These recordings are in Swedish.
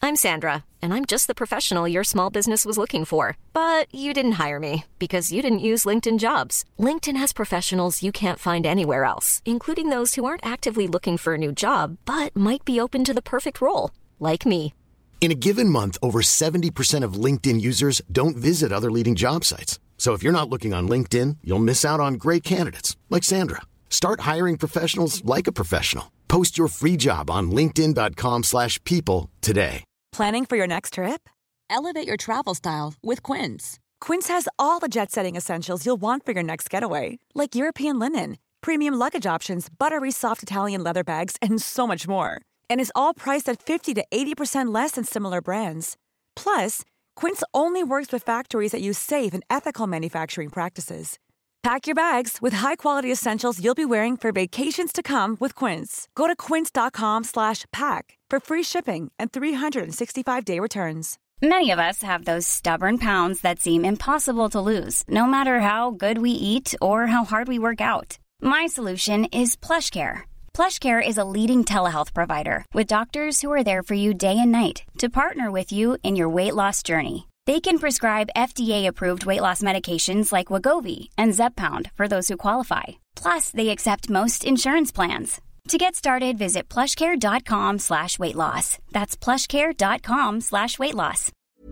I'm Sandra, and I'm just the professional your small business was looking for. But you didn't hire me because you didn't use LinkedIn Jobs. LinkedIn has professionals you can't find anywhere else, including those who aren't actively looking for a new job, but might be open to the perfect role, like me. In a given month, over 70% of LinkedIn users don't visit other leading job sites. So if you're not looking on LinkedIn, you'll miss out on great candidates like Sandra. Start hiring professionals like a professional. Post your free job on linkedin.com/people today. Planning for your next trip? Elevate your travel style with Quince. Quince has all the jet-setting essentials you'll want for your next getaway, like European linen, premium luggage options, buttery soft Italian leather bags, and so much more. And is all priced at 50 to 80% less than similar brands. Plus, Quince only works with factories that use safe and ethical manufacturing practices. Pack your bags with high-quality essentials you'll be wearing for vacations to come with Quince. Go to quince.com/pack for free shipping and 365-day returns. Many of us have those stubborn pounds that seem impossible to lose, no matter how good we eat or how hard we work out. My solution is PlushCare. PlushCare is a leading telehealth provider with doctors who are there for you day and night to partner with you in your weight loss journey. They can prescribe FDA-approved weight loss medications like Wegovy and Zepbound for those who qualify. Plus, they accept most insurance plans. To get started, visit plushcare.com/weightloss. That's plushcare.com/weightloss.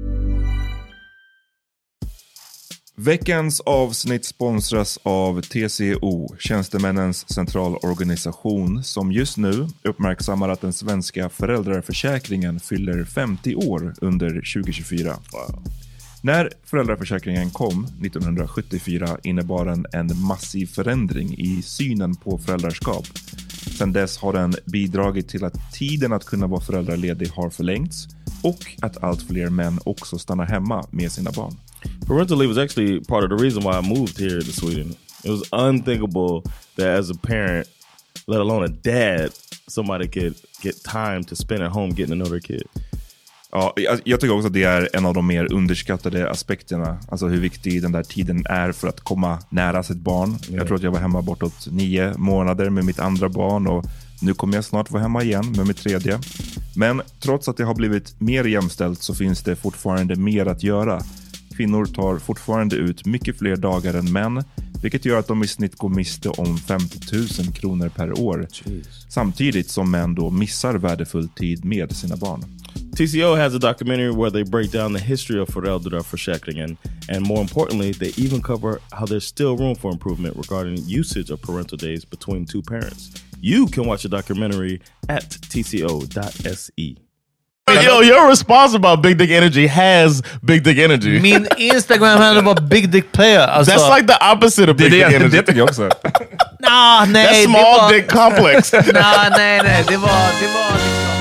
Veckans avsnitt sponsras av TCO, Tjänstemännens centralorganisation, som just nu uppmärksammar att den svenska föräldraförsäkringen fyller 50 år under 2024. Wow. När föräldraförsäkringen kom 1974 innebar den en massiv förändring i synen på föräldraskap. Sedan dess har den bidragit till att tiden att kunna vara föräldraledig har förlängts och att allt fler män också stannar hemma med sina barn. Parental leave was actually part of the reason why I moved here to Sweden. It was unthinkable that as a parent, let alone a dad, somebody could get time to spend at home getting to know their kid. Ja, jag tycker också att det är en av de mer underskattade aspekterna. Alltså hur viktig den där tiden är för att komma nära sitt barn. Mm. Jag tror att jag var hemma bortåt 9 månader med mitt andra barn och nu kommer jag snart vara hemma igen med mitt tredje. Men trots att det har blivit mer jämställt så finns det fortfarande mer att göra. Kvinnor tar fortfarande ut mycket fler dagar än män, vilket gör att de i snitt går miste om 50 000 kronor per år. Jeez. Samtidigt som män då missar värdefull tid med sina barn. TCO has a documentary where they break down the history of föräldraförsäkringen, and more importantly, they even cover how there's still room for improvement regarding usage of parental days between two parents. You can watch the documentary at tco.se. Yo, your response about Big Dick Energy has Big Dick Energy. Min Instagram-handle var Big Dick Player. Alltså, that's like the opposite of Big Dick Energy. Det tycker jag också. Nah, nej. That's small dick complex. Nej. Det var liksom...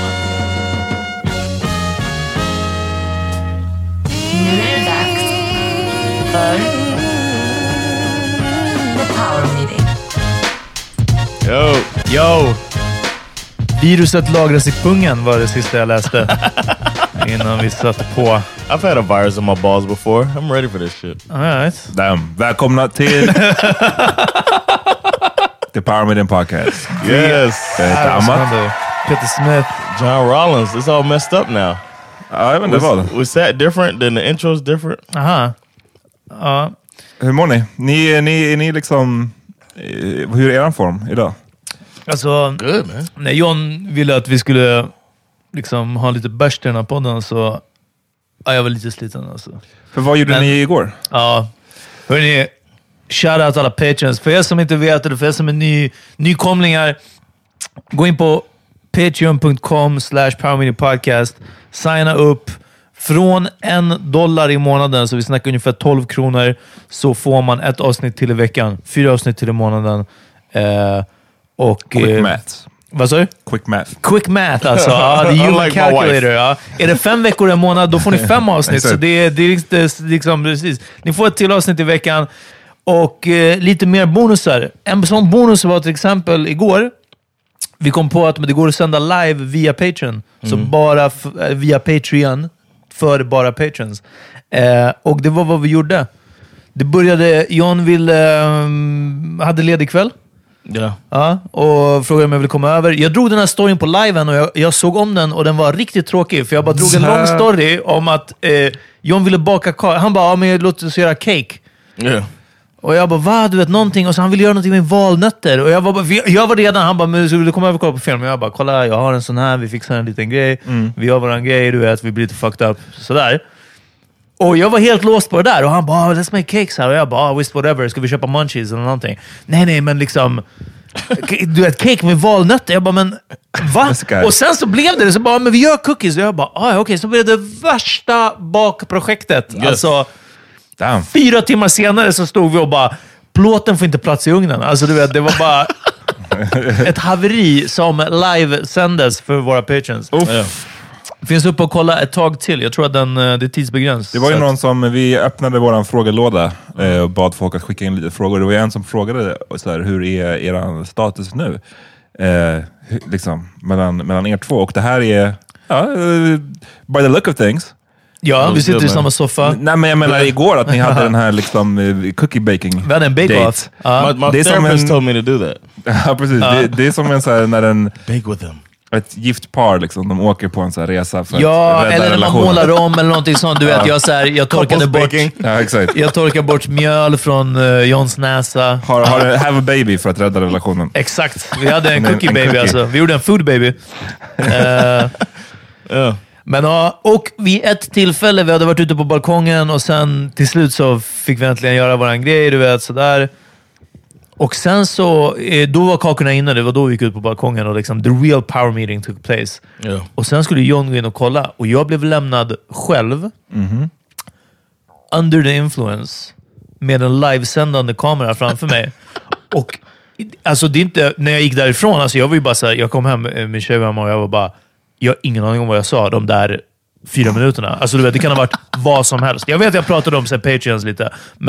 Nu är det dags för The Power Meeting. Yo. Viruset lagras i pungen var det sista jag läste. Innan vi satte på. I've had a virus in my balls before. I'm ready for this shit. All right. Damn. Välkomna till The Power Meeting Podcast. Yes. Peter Smith. John Rollins. It's all messed up now. Ja, jag vet inte vad. Was that different than the intro's different? Aha. Ja. Hur mår ni? Ni liksom... Hur är er form idag? Alltså, good, man. När John ville att vi skulle liksom ha lite bärs till den här podden så... Ja, jag var lite sliten alltså. För vad gjorde ni igår? Ja. Hörrni, shoutout alla patrons. För er som inte vet, eller för er som är nykomlingar, gå in på patreon.com/powermeetingpodcast. Signa upp. Från $1 i månaden, så vi snackar ungefär 12 kronor, så får man ett avsnitt till i veckan. 4 avsnitt till i månaden. Quick math. Vad sa du? Quick math. Quick math alltså. Ja, det är human calculator. Ja. Är det 5 veckor i månad, då får ni 5 avsnitt. Så det är liksom precis. Ni får ett till avsnitt i veckan. Och lite mer bonusar. En sån bonus var till exempel igår. Vi kom på att det går att sända live via Patreon. Så bara via Patreon. För bara patrons. Och det var vad vi gjorde. Det började... John hade ledig kväll. Ja, och frågade om jag ville komma över. Jag drog den här storyn på liven och jag såg om den och den var riktigt tråkig. För jag bara drog en lång story om att John ville baka kaka. Han bara, men låt oss göra cake. Och jag bara, va? Du vet någonting. Och så han ville göra någonting med valnötter. Och jag var redan, han bara, men så vill du komma över och kolla på film? Och jag bara, kolla, jag har en sån här, vi fixar en liten grej. Vi gör våran grej, du vet, vi blir lite fucked up. Sådär. Och jag var helt låst på det där. Och han bara, let's make cakes här. Och jag bara, visst, whatever. Ska vi köpa munchies eller någonting? Nej, men liksom... Du vet, cake med valnötter. Jag bara, men va? Och sen så blev det så bara, men vi gör cookies. Och jag bara, okej. Så blev det värsta bakprojektet. Yes. Alltså, 4 timmar senare så stod vi och bara, plåten får inte plats i ugnen. Alltså du vet, det var bara ett haveri som live-sändes för våra patrons. Finns upp och kolla ett tag till. Jag tror att det är tidsbegränsat. Det var ju någon som, vi öppnade våran frågelåda och bad folk att skicka in lite frågor. Det var en som frågade så här, hur är er status nu? Liksom, mellan er två. Och det här är, by the look of things. Ja, vi sitter i samma soffa. Nej, men jag menar igår att ni hade den här liksom cookie baking. Vi hade en bake-off. My therapist told me to do that. Ja, precis. Det är som en så här, när en... Bake with them. Ett gift par liksom, de åker på en så här resa för att rädda eller när relationen. Man målar om eller någonting sånt. Du vet, jag torkade bort. Ja, exakt. Jag torkade bort mjöl från Johns näsa. Have a baby för att rädda relationen. Exakt. Vi hade en cookie baby alltså. Vi gjorde en food baby. Men och vid ett tillfälle, vi hade varit ute på balkongen och sen till slut så fick vi äntligen göra våran grej, du vet, sådär. Och sen så, då var kakorna inne, det var då vi gick ut på balkongen och liksom the real power meeting took place. Och sen skulle John gå in och kolla och jag blev lämnad själv under the influence med en livesändande kamera framför mig. Och alltså det är inte, när jag gick därifrån, alltså jag var ju bara så här, jag kom hem med min tjej och jag var bara, jag har ingen aning om vad jag sa de där 4 minuterna. Alltså du vet, det kan ha varit vad som helst. Jag vet att jag pratade om Patreons lite,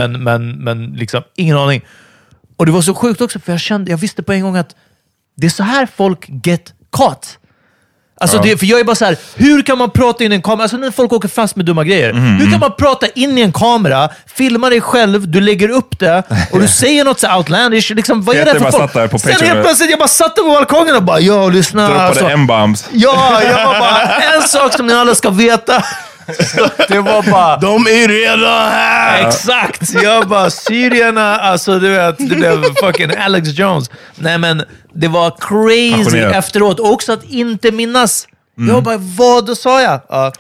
men liksom ingen aning. Och det var så sjukt också, för jag visste på en gång att det är så här folk get caught. Alltså för jag är bara så här, hur kan man prata in i en kamera? Alltså när folk åker fast med dumma grejer. Hur kan man prata in i en kamera, filma dig själv, du lägger upp det och du säger något så outlandish. Liksom, vad är det för folk? Sen helt plötsligt, jag bara satt på balkongen och bara, lyssna. Droppade M-bombs. Ja, jag var bara, en sak som ni alla ska veta. Det var bara, de är redan här. Exakt, jag bara, syrierna, alltså du vet, det blev fucking Alex Jones. Nej men, det var crazy efteråt, också att inte minnas. Jag bara, vad sa jag?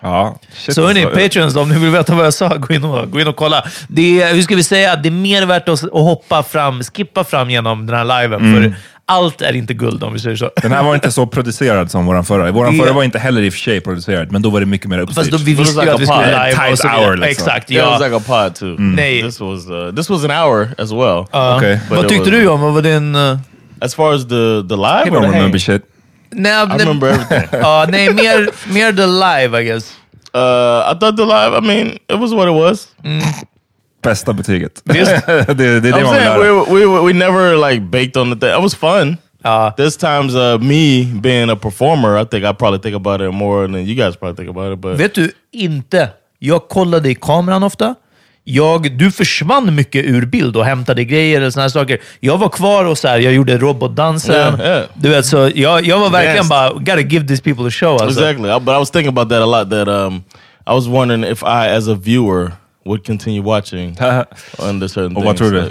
Så hörni, Patreons, om ni vill veta vad jag sa, gå in och kolla. Det är, hur ska vi säga, det är mer värt att skippa fram genom den här liven, för allt är inte guld, om vi säger så. Den här var inte så producerad som våran förra. Våran förra var inte heller i och för sig producerad, men då var det mycket mer uppstyrt. Fast då vi visste ju att vi skulle live och så vidare. Liksom. Exakt, yeah, it was like a pod too. Nej. This was an hour as well. Okay. Vad tyckte du om? Vad var din... As far as the live? I don't remember shit. Nej, I remember everything. Nej, mer the live, I guess. I thought the live, I mean, it was what it was. Bästa betyget. det är det man vill höra. We never like baked on the thing. It was fun. This times me being a performer, I probably think about it more than you guys probably think about it. But vet du, inte. Jag kollade i kameran ofta. Du försvann mycket ur bild och hämtade grejer och såna här saker. Jag var kvar och så här, jag gjorde robotdansen. Du vet, så jag var verkligen bara, gotta give these people a show. Alltså. Exactly, but I was thinking about that a lot. That I was wondering if I, as a viewer, would continue watching under certain things. Vad tror du?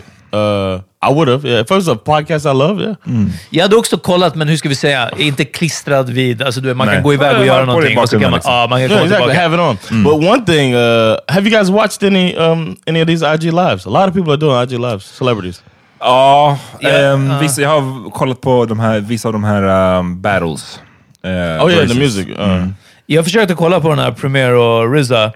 I would have, yeah. If it was a podcast I love, yeah. Jag hade också kollat, men hur ska vi säga, inte klistrad vid, alltså du vet, man kan gå iväg och göra någonting och så kan man, man kan komma tillbaka. Have it on. But one thing, have you guys watched any of these IG lives? A lot of people are doing IG lives, celebrities. Ja, jag har kollat på vissa av de här battles. The music. Jag försökte kolla på den här Premier och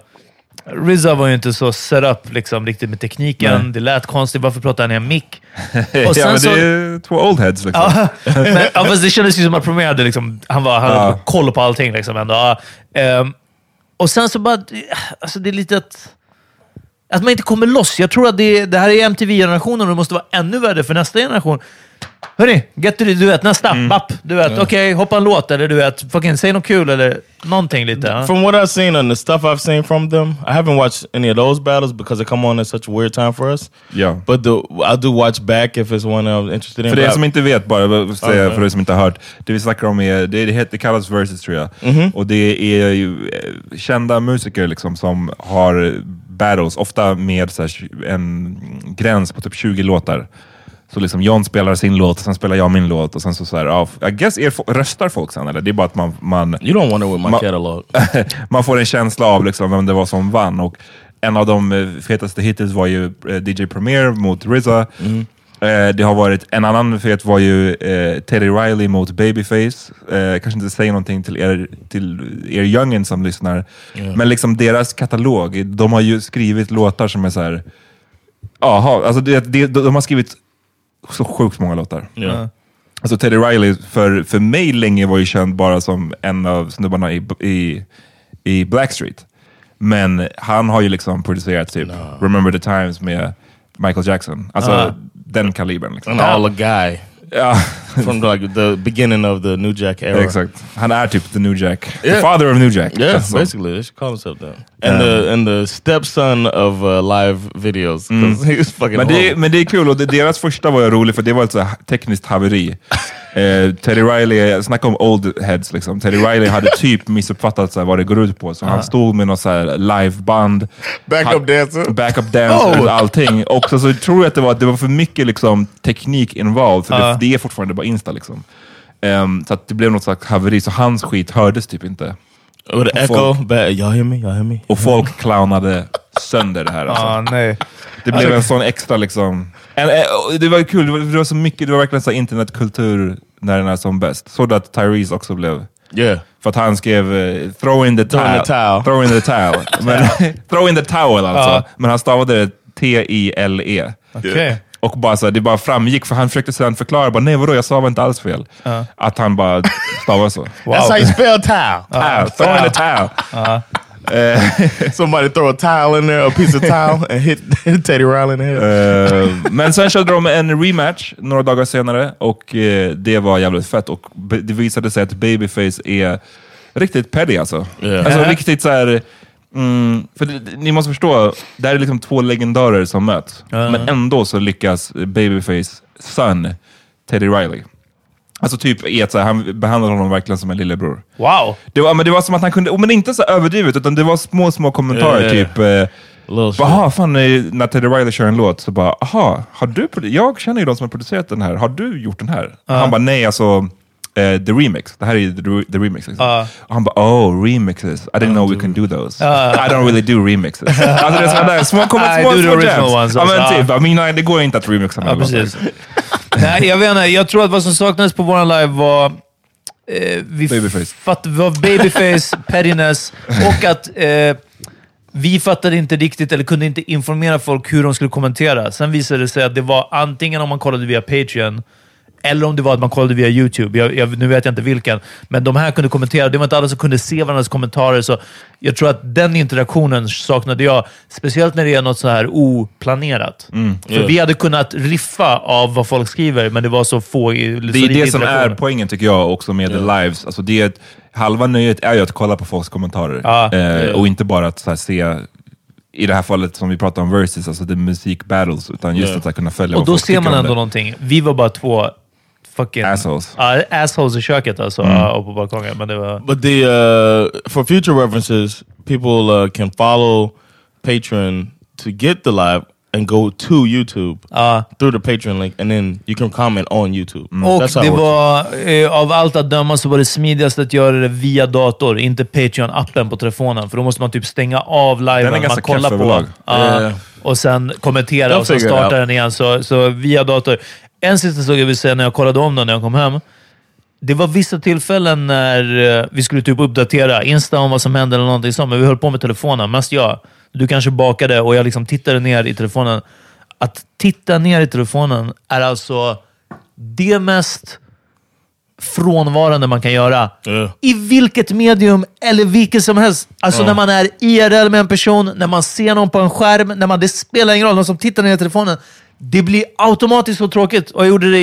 RZA var ju inte så set up liksom, riktigt med tekniken. Nej. Det lät konstigt. Varför pratar han i en mick? Och sen men det är två old heads liksom. Fast det kändes ju som att Premier hade liksom, han hade koll på allting liksom ändå. Och sen så bara, alltså det är lite att man inte kommer loss. Jag tror att det här är MTV-generationen och det måste vara ännu värre för nästa generation. hörni, du vet, nästa, du vet, okej, hoppa en låt, eller du vet, fucking säg något kul, eller någonting lite. From what I've seen and the stuff I've seen from them, I haven't watched any of those battles because they come on at such a weird time for us. Yeah. But I do watch back if it's one I'm interested in. För det som inte vet, bara för det som inte har hört, det vi snackar om är, det kallas versus tror jag. Och det är ju kända musiker liksom som har battles, ofta med så här, en gräns på typ 20 låtar. Så liksom John spelar sin låt och sen spelar jag min låt och sen så här, I guess röstar folk sen, eller? Det är bara att man you don't wonder with my catalog. Man får en känsla av liksom vem det var som vann, och en av de fetaste hittills var ju DJ Premier mot RZA. Det har varit en annan fet var ju Teddy Riley mot Babyface. Kanske inte säger någonting till er youngin som lyssnar. Men liksom deras katalog, de har ju skrivit låtar som är så här. Alltså de har skrivit så sjukt många låtar. Alltså Teddy Riley för mig länge var ju känd bara som en av snubbarna i Blackstreet. Men han har ju liksom producerat typ Remember the Times med Michael Jackson. Alltså den kalibern liksom. And all a guy. From like the beginning of the New Jack era. Exakt. Han är typ the New Jack. The father of New Jack. Yeah, basically. They should call himself that. And the stepson of live videos. He was fucking men det är kul, och deras första var ju rolig för det var ett så tekniskt haveri. Teddy Riley, snacka om old heads liksom. Teddy Riley hade typ missuppfattat så här, vad det går ut på. Så han stod med något så här liveband. Backup dancer. Och allting. Och så tror jag att det var för mycket liksom teknik involved. För det är fortfarande bara Insta liksom. Så att det blev något slags haveri. Så hans skit hördes typ inte. Och det echo. Y'all hear me. Och folk clownade sönder det här alltså. Nej. Det blev en sån extra liksom. Det var kul, det var så mycket, det var verkligen så internetkultur när den är som bäst. Så att Tyrese också blev. För att han skrev throw in the towel. Men throw in the towel alltså. Men han stavade det T-I-L-E. Okej. Och bara så, det bara framgick, för han försökte sedan förklara, bara nej vadå, jag sa inte alls fel. Att han bara stavade så. Wow. That's how you spell towel. Throw in the towel. Somebody throw a towel in there, a piece of towel, and hit Teddy Riley in the head. Men sen körde de en rematch några dagar senare, och det var jävligt fett. Och det visade sig att Babyface är riktigt petty alltså. Alltså riktigt så här. För ni måste förstå, det här är liksom två legendarer som möts. Men ändå så lyckas Babyface son Teddy Riley. Alltså typ han behandlade honom verkligen som en lillebror. Wow. Det var som att han kunde, men inte så överdrivet, utan det var små kommentarer typ fan, när Teddy Riley kör en låt så bara, har du jag känner ju de som har producerat den här, har du gjort den här? Han bara, nej alltså the remix, det här är the remix liksom. Och han bara, remixes, I didn't know we can do those. I don't really do remixes. Alltså det är sådana där små jams. Ja men typ, det går inte att remixa med precis. Nej, jag vet inte, jag tror att vad som saknades på våran live var Babyface, pettiness, och att vi fattade inte riktigt eller kunde inte informera folk hur de skulle kommentera. Sen visade det sig att det var antingen om man kollade via Patreon eller om det var att man kollade via YouTube. Nu vet jag inte vilken. Men de här kunde kommentera. Det var inte alla som kunde se varandras kommentarer. Så jag tror att den interaktionen saknade jag. Speciellt när det är något så här oplanerat. För vi hade kunnat riffa av vad folk skriver, men det var så få. Det är det som är poängen tycker jag också med the lives. Alltså det är halva nöjet är ju att kolla på folks kommentarer. Och inte bara att så här, se... I det här fallet som vi pratar om versus, alltså det är musik battles, utan just att kunna följa. Och då ser man ändå någonting. Vi var bara två fucking assholes i köket alltså, och på balkongen. Men det var... But for future references, people can follow Patreon to get the live and go to YouTube through the Patreon link, and then you can comment on YouTube. Och det var, av allt att döma så var det smidigast att göra det via dator, inte Patreon-appen på telefonen, för då måste man typ stänga av liven man kollar på. Och sen kommentera och sen starta den igen. Så via dator. En sista sak jag vill säga när jag kollade om den när jag kom hem. Det var vissa tillfällen när vi skulle typ uppdatera Insta om vad som hände eller någonting sånt, men vi höll på med telefonen. Mest jag. Du kanske bakade och jag liksom tittade ner i telefonen. Att titta ner i telefonen är alltså det mest frånvarande man kan göra. I vilket medium eller vilket som helst. Alltså när man är IRL med en person, när man ser någon på en skärm, det spelar ingen roll, någon som tittar ner i telefonen. Det blir automatiskt så tråkigt. Och jag gjorde det i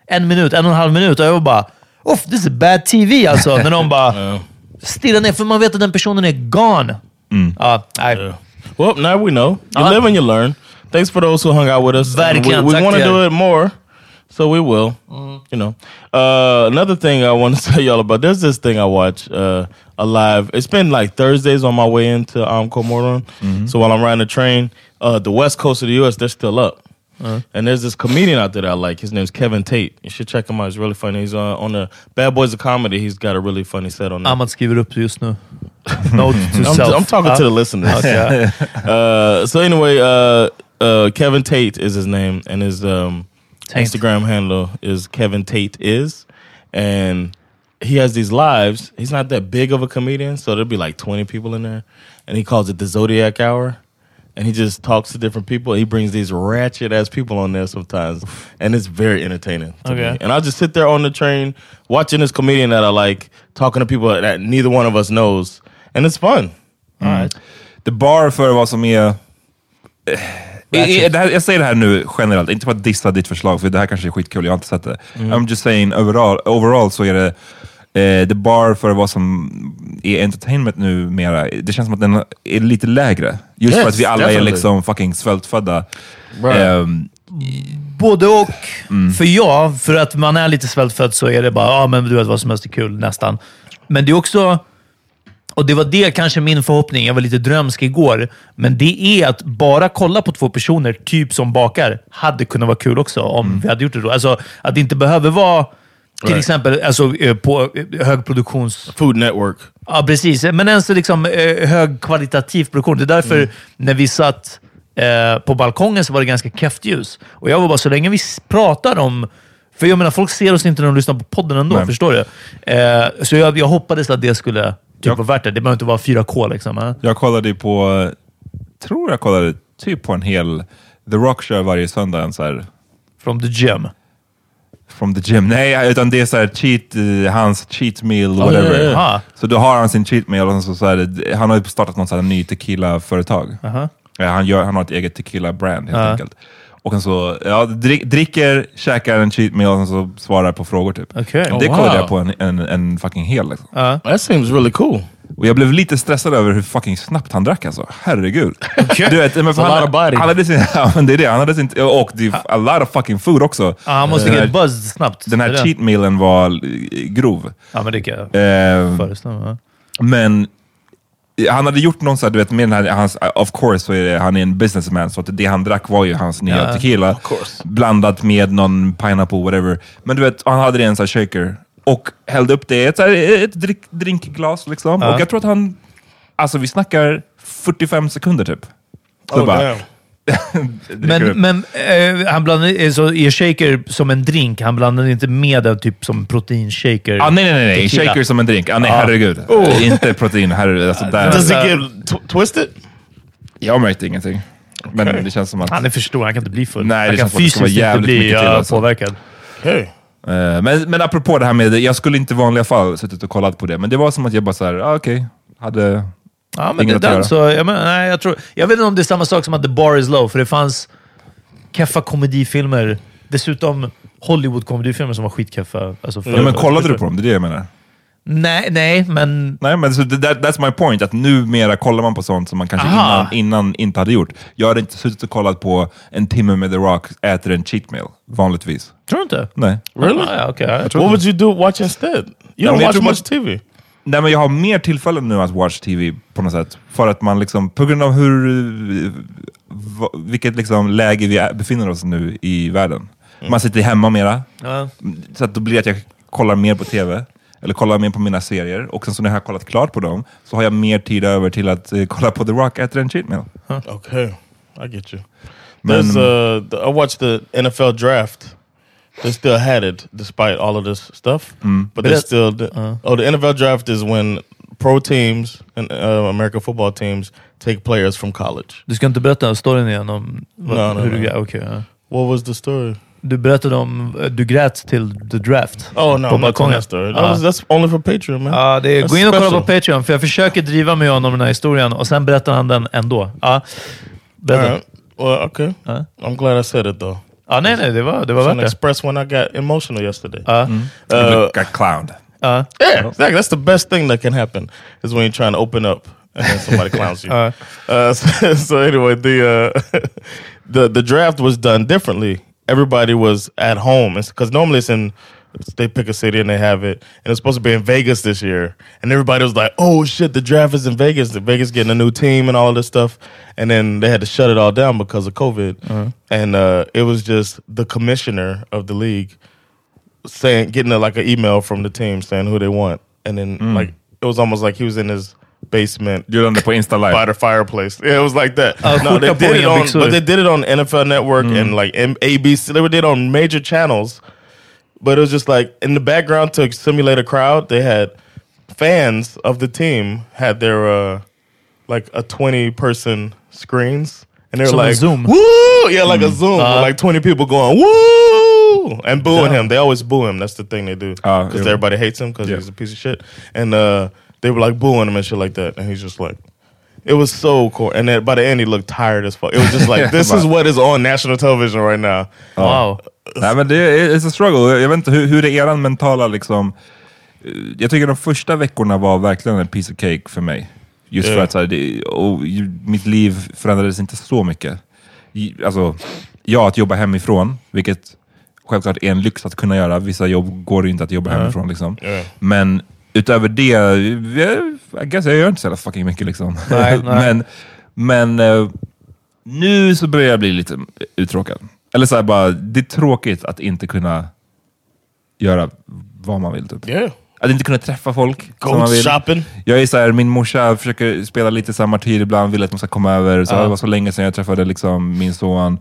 1 och en halv minut. Och jag var bara, this is bad TV alltså. När de bara stirrar ner, för man vet att den personen är gone. Well, now we know. You live and you learn. Thanks for those who hung out with us. Verkligen, we want to do it more, so we will. You know. Another thing I want to tell y'all about. There's this thing I watch alive. It's been like Thursdays on my way into Comoron. So while I'm riding the train, the west coast of the U.S., they're still up. And there's this comedian out there that I like. His name's Kevin Tate. You should check him out. He's really funny. He's on the Bad Boys of Comedy. He's got a really funny set on there. Amat skriver upp det just nu. Note to self. I'm talking to the listeners. Okay. So anyway, Kevin Tate is his name, and his Instagram handle is Kevin Tate is, and he has these lives. He's not that big of a comedian, so there'll be like 20 people in there, and he calls it the Zodiac Hour. And he just talks to different people. He brings these ratchet ass people on there sometimes, and it's very entertaining to me. And I'll just sit there on the train watching this comedian that I like, talking to people that neither one of us knows, and it's fun. The bar för vad som är... jag säger det här nu generellt, inte för att dissa ditt förslag, för det här kanske är skitkul, jag har inte sett det. I'm just saying, overall så är det the bar för vad som är entertainment nu mera, det känns som att den är lite lägre. Just för att vi alla är liksom fucking svältfödda. Både och. För att man är lite svältfödd så är det bara, men du vet vad som helst är kul nästan. Men det är också, och det var det kanske min förhoppning, jag var lite drömsk igår, men det är att bara kolla på 2 personer typ som bakar hade kunnat vara kul också om vi hade gjort det då. Alltså att det inte behöver vara till exempel alltså, på högproduktions... Food Network. Ja, precis. Men ens liksom högkvalitativ produktion. Det är därför när vi satt på balkongen så var det ganska kräftljus. Och jag var bara, så länge vi pratar om... För jag menar, folk ser oss inte när de lyssnar på podden ändå, förstår du? Så jag hoppades att det skulle vara värt det. Det behöver inte vara 4K liksom. Jag kollade på... tror jag kollade typ på en hel... The Rock kör varje söndag en så här... From the gym. From the gym. Nej, utan det är så här hans cheat meal whatever. Så då har han sin cheat meal och så här, han har startat någon så här ny tequila-företag. Han har ett eget tequila-brand helt enkelt. Och så dricker, käkar en cheat meal och så svarar på frågor typ. Okay. Det kollade jag på en fucking hel liksom. That seems really cool. Och jag blev lite stressad över hur fucking snabbt han drack alltså. Herregud. Du vet, men han hade sin, men det är det. Han hade sin, och det är a lot of fucking food också. Han måste get buzzed snabbt. Den här cheat mealen var grov. Ja, men det kan jag föreställa. Men han hade gjort någon så här, du vet, med den här, of course så är det, han är en businessman, så att det han drack var ju hans nya tequila. Blandat med någon pineapple, whatever. Men du vet, han hade det en så här shaker. Och hällde upp det ett drinkglas liksom. Och jag tror att han... Alltså vi snackar 45 sekunder typ. Så bara... men han blandade så i shaker som en drink. Han blandade inte med den typ som proteinshaker. Nej. Shaker som en drink. Nej, herregud. Inte protein. Alltså, Does it get twisted? Jag märkte ingenting. Men det känns som att... Han är för stor, han kan inte bli full. Nej, han det kan känns som att det ska vara jävligt mycket till. Alltså. Påverkad. Okej. Men apropå det här med, jag skulle inte i vanliga fall suttit och kollat på det, men det var som att jag bara såhär, okej, hade men det där så, jag vet inte om det är samma sak som att the bar is low, för det fanns keffa komedifilmer, dessutom Hollywood-komedifilmer som var skitkeffa. Alltså men kollade du på dem? Det är det jag menar. Nej, men så that's my point, att numera kollar man på sånt som man kanske innan inte hade gjort. Jag hade inte suttit och kollat på en timme med The Rock äter en cheat meal, vanligtvis. Tror du inte? Nej. Really? Okay. What would you watch instead? You don't watch much TV. Nej, men jag har mer tillfällen nu att watch TV på något sätt. För att man liksom, på grund av vilket liksom läge vi befinner oss nu i världen. Man sitter hemma mera. Så att då blir det att jag kollar mer på TV. Eller kollar mer på mina serier. Och sen så när jag har kollat klart på dem så har jag mer tid över till att kolla på The Rock äter en cheat meal. Okay, I get you. I watched the NFL draft. They still had it despite all of this stuff. But they still... the NFL draft is when pro teams and American football teams take players from college. Du ska inte berätta storyn igen om hur du... Okay, What was the story? Du berättade om du grät till the draft. Oh no, I'm not telling that story. That's only for Patreon, man. Gå in och kolla på Patreon, för jag försöker driva med honom den här historien och sen berättar han den ändå. Well, okay. I'm glad I said it though. Nej, det var värt det. Express when I got emotional yesterday. Got clowned. Yeah, exactly. That's the best thing that can happen is when you're trying to open up and then somebody clowns you. So anyway, the draft was done differently. Everybody was at home because normally they pick a city and they have it, and it's supposed to be in Vegas this year. And everybody was like, "Oh shit, the draft is in Vegas. The Vegas getting a new team and all this stuff." And then they had to shut it all down because of COVID. And it was just the commissioner of the league getting like an email from the team saying who they want, and then like it was almost like he was in his basement. You're on the Insta Live by the fireplace. Yeah, it was like that. No, they did it on, but they did it on NFL Network and like ABC. They did it on major channels. But it was just like in the background to simulate a crowd. They had fans of the team had their like a 20-person screens, and they were like, Zoom. "Woo!" Yeah, like a Zoom, with like 20 people going "Woo!" and booing him. They always boo him. That's the thing they do because everybody hates him because he's a piece of shit. And they were like booing him and shit like that, and he's just like. It was so cool. And then by the end he looked tired as fuck. It was just like, this is what is on national television right now. Wow. Nej, men det är a struggle. Jag vet inte hur det är eran mentala liksom. Jag tycker de första veckorna var verkligen en piece of cake för mig. Just för att så här, mitt liv förändrades inte så mycket. Alltså, att jobba hemifrån, vilket självklart är en lyx att kunna göra. Vissa jobb går det inte att jobba hemifrån liksom. Men utöver det, I guess jag gör inte så jävla fucking mycket liksom. Nej. Men nu så börjar jag bli lite uttråkad. Eller så här bara, det är tråkigt att inte kunna göra vad man vill typ. Att inte kunna träffa folk som man vill. Shopping. Jag är så här, min morsa försöker spela lite samma tid ibland, vill att man ska komma över. Så det var så länge sedan jag träffade liksom min son.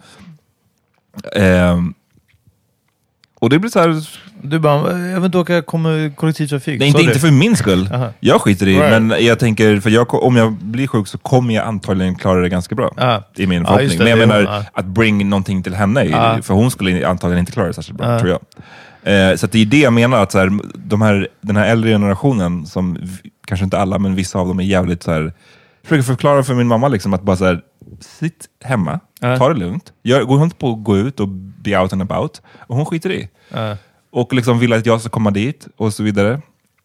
Och det blir så här. Du bara, jag vill inte åka kollektivtrafik. Det är inte för min skull. Jag skiter i, men jag tänker, för om jag blir sjuk så kommer jag antagligen klara det ganska bra. I min förhoppning. Men jag menar, att bring någonting till henne, för hon skulle antagligen inte klara det särskilt bra, tror jag. Så att det är det jag menar, att så här, den här äldre generationen, som kanske inte alla, men vissa av dem är jävligt så här, försöker förklara för min mamma liksom, att bara så här, sitt hemma, ta det lugnt. Går hon inte på att gå ut och be out and about, och hon skiter i. Och liksom vill att jag ska komma dit och så vidare.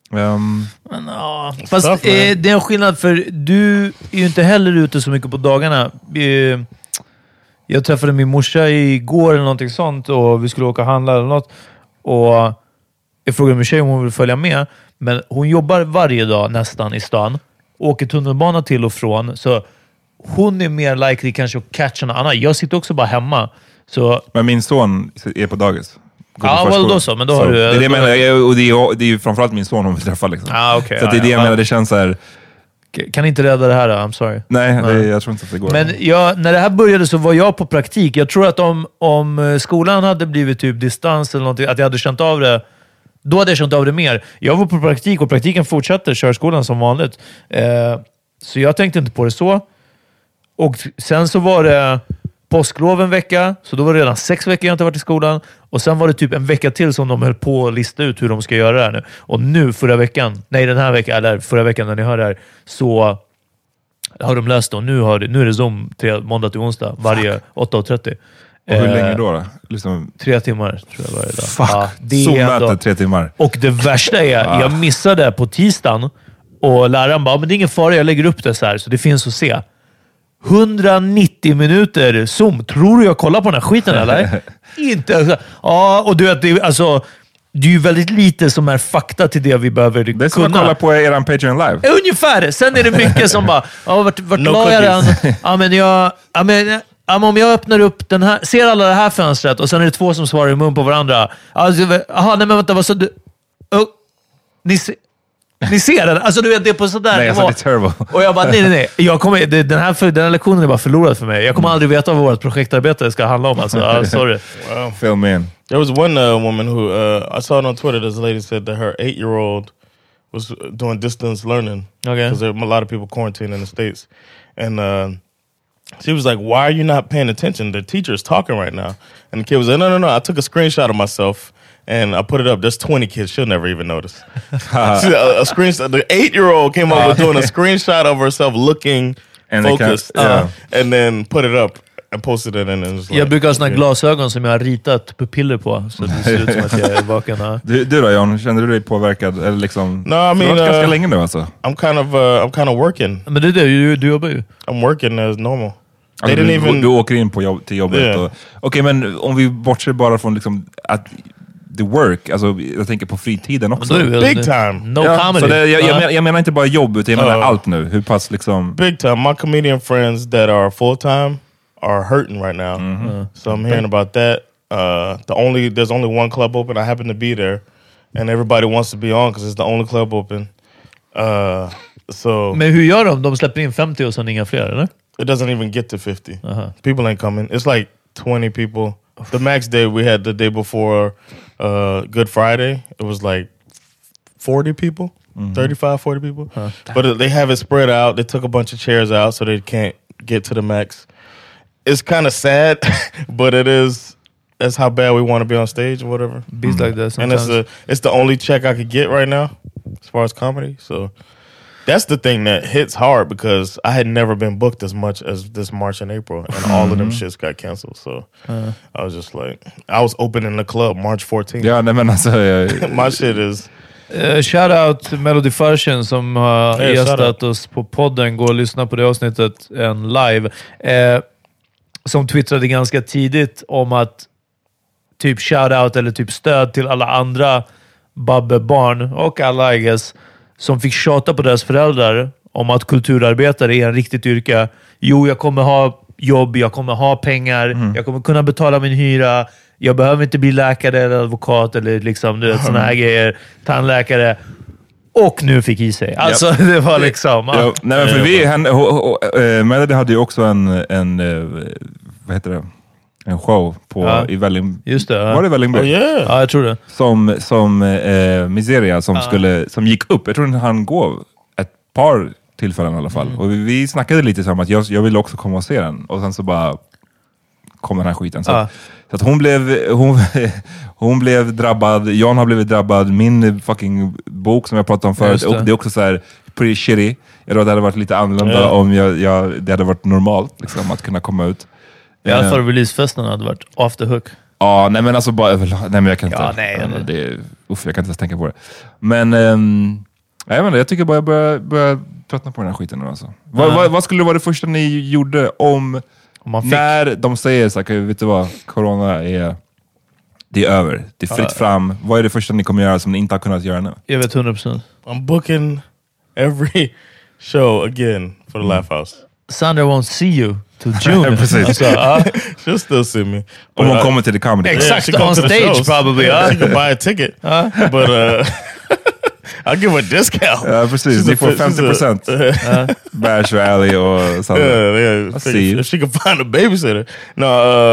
Fast det är en skillnad, för du är ju inte heller ute så mycket på dagarna. Jag träffade min morsa igår eller någonting sånt, och vi skulle åka och handla eller något. Och jag frågade min tjej om hon vill följa med, men hon jobbar varje dag nästan i stan, åker tunnelbana till och från, så hon är mer likely kanske att catcha någon annan. Jag sitter också bara hemma. Så... Men min son är på dagis. Väl då så, men då har du... Det är det jag menar, och det är ju framförallt min son hon vill träffa liksom. Okay, så det är det jag menar, det känns så här... Kan inte rädda det här då? I'm sorry. Nej, jag tror inte att det går. Men när det här började så var jag på praktik. Jag tror att om skolan hade blivit typ distans eller någonting, att jag hade känt av det, då hade jag känt av det mer. Jag var på praktik och praktiken fortsatte körskolan som vanligt. Så jag tänkte inte på det så. Och sen så var det påsklov en vecka, så då var det redan 6 veckor jag inte varit i skolan. Och sen var det typ en vecka till som de höll på att lista ut hur de ska göra det här nu. Och nu förra veckan när ni hör det här, så har de löst det. Och nu är det Zoom måndag till onsdag, varje 8:30. Och hur länge då? Liksom... 3 timmar tror jag varje dag. Fuck, Zoom-möte 3 timmar. Och det värsta är, jag missade på tisdagen, och läraren bara, men det är ingen fara, jag lägger upp det så här, så det finns att se. 190 minuter Zoom. Tror du jag kollar på den här skiten eller? Inte. Ja, och du vet, det är ju väldigt lite som är fakta till det vi behöver kunna. Det är som att kolla på eran Patreon live. Ungefär. Sen är det mycket som bara, vart la jag den? Om jag öppnar upp den här, ser alla det här fönstret, och sen är det 2 som svarar i mun på varandra. Nej men vänta, vad sa du? Ni ser den? Alltså du vet, det är på sådär. Nej, alltså, det är terrible. Och jag bara, nej. Den här lektionen är bara förlorad för mig. Jag kommer aldrig veta vad vårt projektarbete ska handla om. Alltså, sorry. Wow. Fill me in. There was one woman who, I saw it on Twitter, this lady said that her 8-year-old was doing distance learning. Okay. Because there are a lot of people quarantined in the States. And she was like, why are you not paying attention? The teacher is talking right now. And the kid was like, no. I took a screenshot of myself. And I put it up. There's 20 kids. She'll never even notice. A screenshot. The 8-year-old came up with doing a screenshot of herself looking and focused, and then put it up. and posted it and it was like, jag brukar ha såna glasögon som jag har ritat pupiller på, så det ser ut som att jag är vaken. Du då John, känner du dig påverkad? Eller liksom, no, I mean, ganska länge nu alltså. I'm kind of working. Men det är det, du jobbar ju. I'm working as normal. Alltså, du åker in på till jobbet. Yeah. Okej, men om vi bortser bara från liksom att the work, alltså jag tänker på fritiden också. Big time. No comedy. Så jag menar inte bara jobb, utan jag menar allt nu. Hur pass liksom... Big time. My comedian friends that are full-time are hurting right now. So I'm hearing about that. There's only one club open. I happen to be there. And everybody wants to be on because it's the only club open. Men hur gör de? De släpper in 50 och sen inga fler, eller? It doesn't even get to 50. People ain't coming. It's like 20 people. The max day we had the day before Good Friday, it was like 40 people, 35, 40 people. But they have it spread out. They took a bunch of chairs out so they can't get to the max. It's kind of sad, but that's how bad we want to be on stage or whatever. Beats like that sometimes. And it's the only check I could get right now as far as comedy. So that's the thing that hits hard because I had never been booked as much as this March and April, and all of them shits got canceled. So I was just like, I was opening the club March 14th. Ja, nej, men alltså, my shit is... shout out Melody Farshin som har gästat oss på podden. Gå och lyssna på det avsnittet en live. Som twittrade ganska tidigt om att typ shout out eller typ stöd till alla andra Babbe-barn och alla, I guess, som fick tjata på deras föräldrar om att kulturarbetare är en riktigt yrke. Jo, jag kommer ha jobb, jag kommer ha pengar, jag kommer kunna betala min hyra, jag behöver inte bli läkare eller advokat eller liksom, såna här grejer, tandläkare. Och nu fick i sig. Alltså, det var liksom... Ja, nej, för Melody hade ju också en vad heter det? En show på i Vällingby. Just det. Var det Vällingby? Ja, jag tror det. Som Miseria som gick upp. Jag tror han går ett par tillfällen i alla fall. Och vi snackade lite om att jag ville också komma och se den. Och sen så bara kom den här skiten. Så att hon blev drabbad. Jan har blivit drabbad. Min fucking bok som jag pratade om förut. Och det är också så här pretty shitty. Jag tror att det hade varit lite annorlunda om det hade varit normalt liksom, att kunna komma ut. I alla fall releasefesten hade varit off the hook. Ja, nej men alltså bara... Nej men jag kan inte... Ja, nej. Jag kan inte ens tänka på det. Men... jag tycker bara jag börjar tröttna på den här skiten nu alltså. Vad skulle vara det första ni gjorde om när de säger så här, vet du vad? Corona det är över. Det är fritt fram. Vad är det första ni kommer göra som ni inte har kunnat göra nu? Jag vet 100%. I'm booking every show again for the Laugh House. Sandra won't see you till June. Precis. She'll still see me. Om hon kommer till the comedy. Exactly, on stage probably. She can buy a ticket. But I'll give her a discount. Ja, precis. Ni får 50%. Bash Valley och sånt. If she can find a babysitter. No,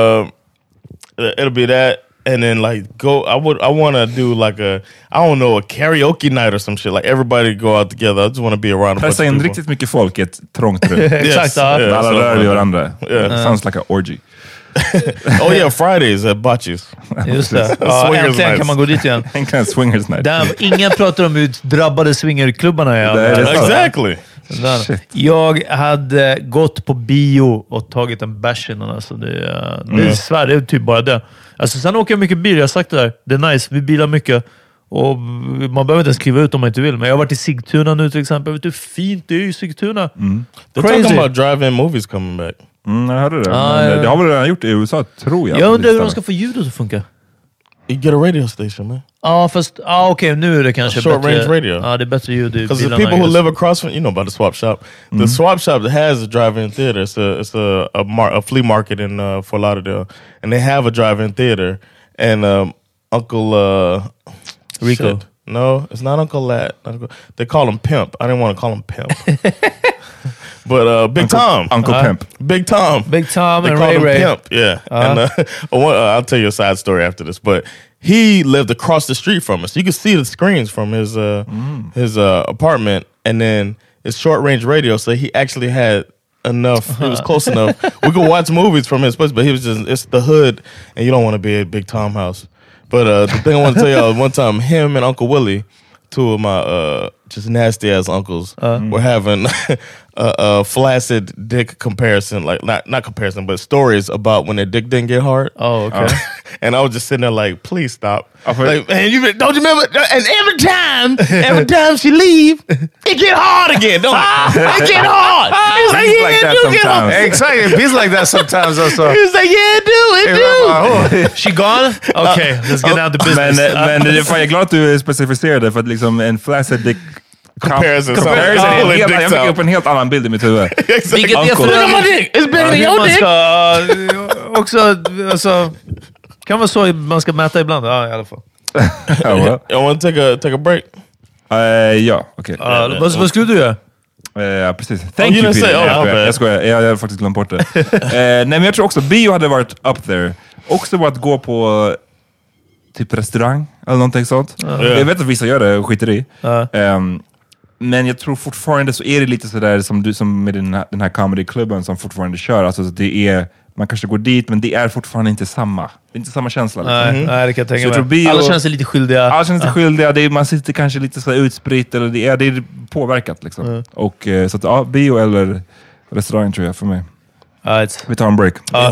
it'll be that. And then like I want to do like a karaoke night or some shit. Like everybody go out together. I just want to be around a bunch of people. Riktigt mycket folk i ett trångt rum. Exakt. Alla rör vid varandra. Sounds like an orgy. Oh yeah, Fridays at Bocce's. Just det. Äntligen kan man gå dit igen. Äntligen swingers night. Damn, ingen pratar om hur drabbade swingerklubbarna är. Exactly. Jag hade gått på bio och tagit en bärs innan. Alltså det är svär, det är typ bara det. Alltså sen åker jag mycket bil, jag har sagt det där. Det är nice, vi bilar mycket. Och man behöver inte ens skriva ut om man inte vill. Men jag har varit i Sigtuna nu till exempel. Vet du hur fint det är i Sigtuna? They're talking about drive-in movies coming back. Jag hörde det. Det har väl redan gjort i USA, tror jag. Jag undrar hur de ska få ljudet att funka. You get a radio station, man. Fast okej, nu är det kanske short range radio. Ja, det är bättre ljud i because the people who live across from, you know about the swap shop. The swap shop has a drive-in theater. It's a flea market in Fort Lauderdale, and they have a drive-in theater. And Uncle Rico. Shit. No, it's not Uncle Lat. They call him Pimp. I didn't want to call him Pimp. But Big Tom. Uncle Pimp. Big Tom. Big Tom they and called Ray him Ray. Pimp, yeah. And I'll tell you a side story after this. But he lived across the street from us. You could see the screens from his apartment. And then it's short range radio. So he actually had enough. It was close enough. We could watch movies from his place. But he was it's the hood. And you don't want to be at Big Tom house. But the thing I want to tell y'all, one time, him and Uncle Willie, two of my just nasty ass uncles were having a flaccid dick comparison, like not comparison, but stories about when their dick didn't get hard. Oh, okay. And I was just sitting there like, please stop. Like, man, don't you remember? And every time she leave, it get hard again. Don't it? It get hard. He's like, yeah, like that do sometimes. get hard. Exactly. It feels like that sometimes also. He's like, yeah, do. She gone? Okay, let's get down to business. Men jag är glad att du specificerade för att liksom en flaccid dick Comparison. Jag fick upp en helt annan bild i mitt huvud. Vilket är för också, alltså, kan vara så man ska mäta ibland. Ja, i alla fall. I want to take a break. Ja, okej. Vad skulle du göra? Ja, precis. Thank you, Peter. Jag skojar, jag hade faktiskt glömt bort det. Nej, men jag tror också bio hade varit up there. Också bara att gå på typ restaurang eller någonting sånt. Jag vet att vissa gör det och skiter i. Men jag tror fortfarande så är det lite sådär som med den här comedyklubben som fortfarande kör. Alltså det är, man kanske går dit, men det är fortfarande inte samma. Det är inte samma känsla. Liksom. Nej, det kan jag tänka mig. Alla känner sig lite skyldiga. Alla känner sig skyldiga. Man sitter kanske lite så utspritt, eller det är påverkat. Liksom. Och, så att, ja, bio eller restaurang tror jag för mig. Vi tar en break.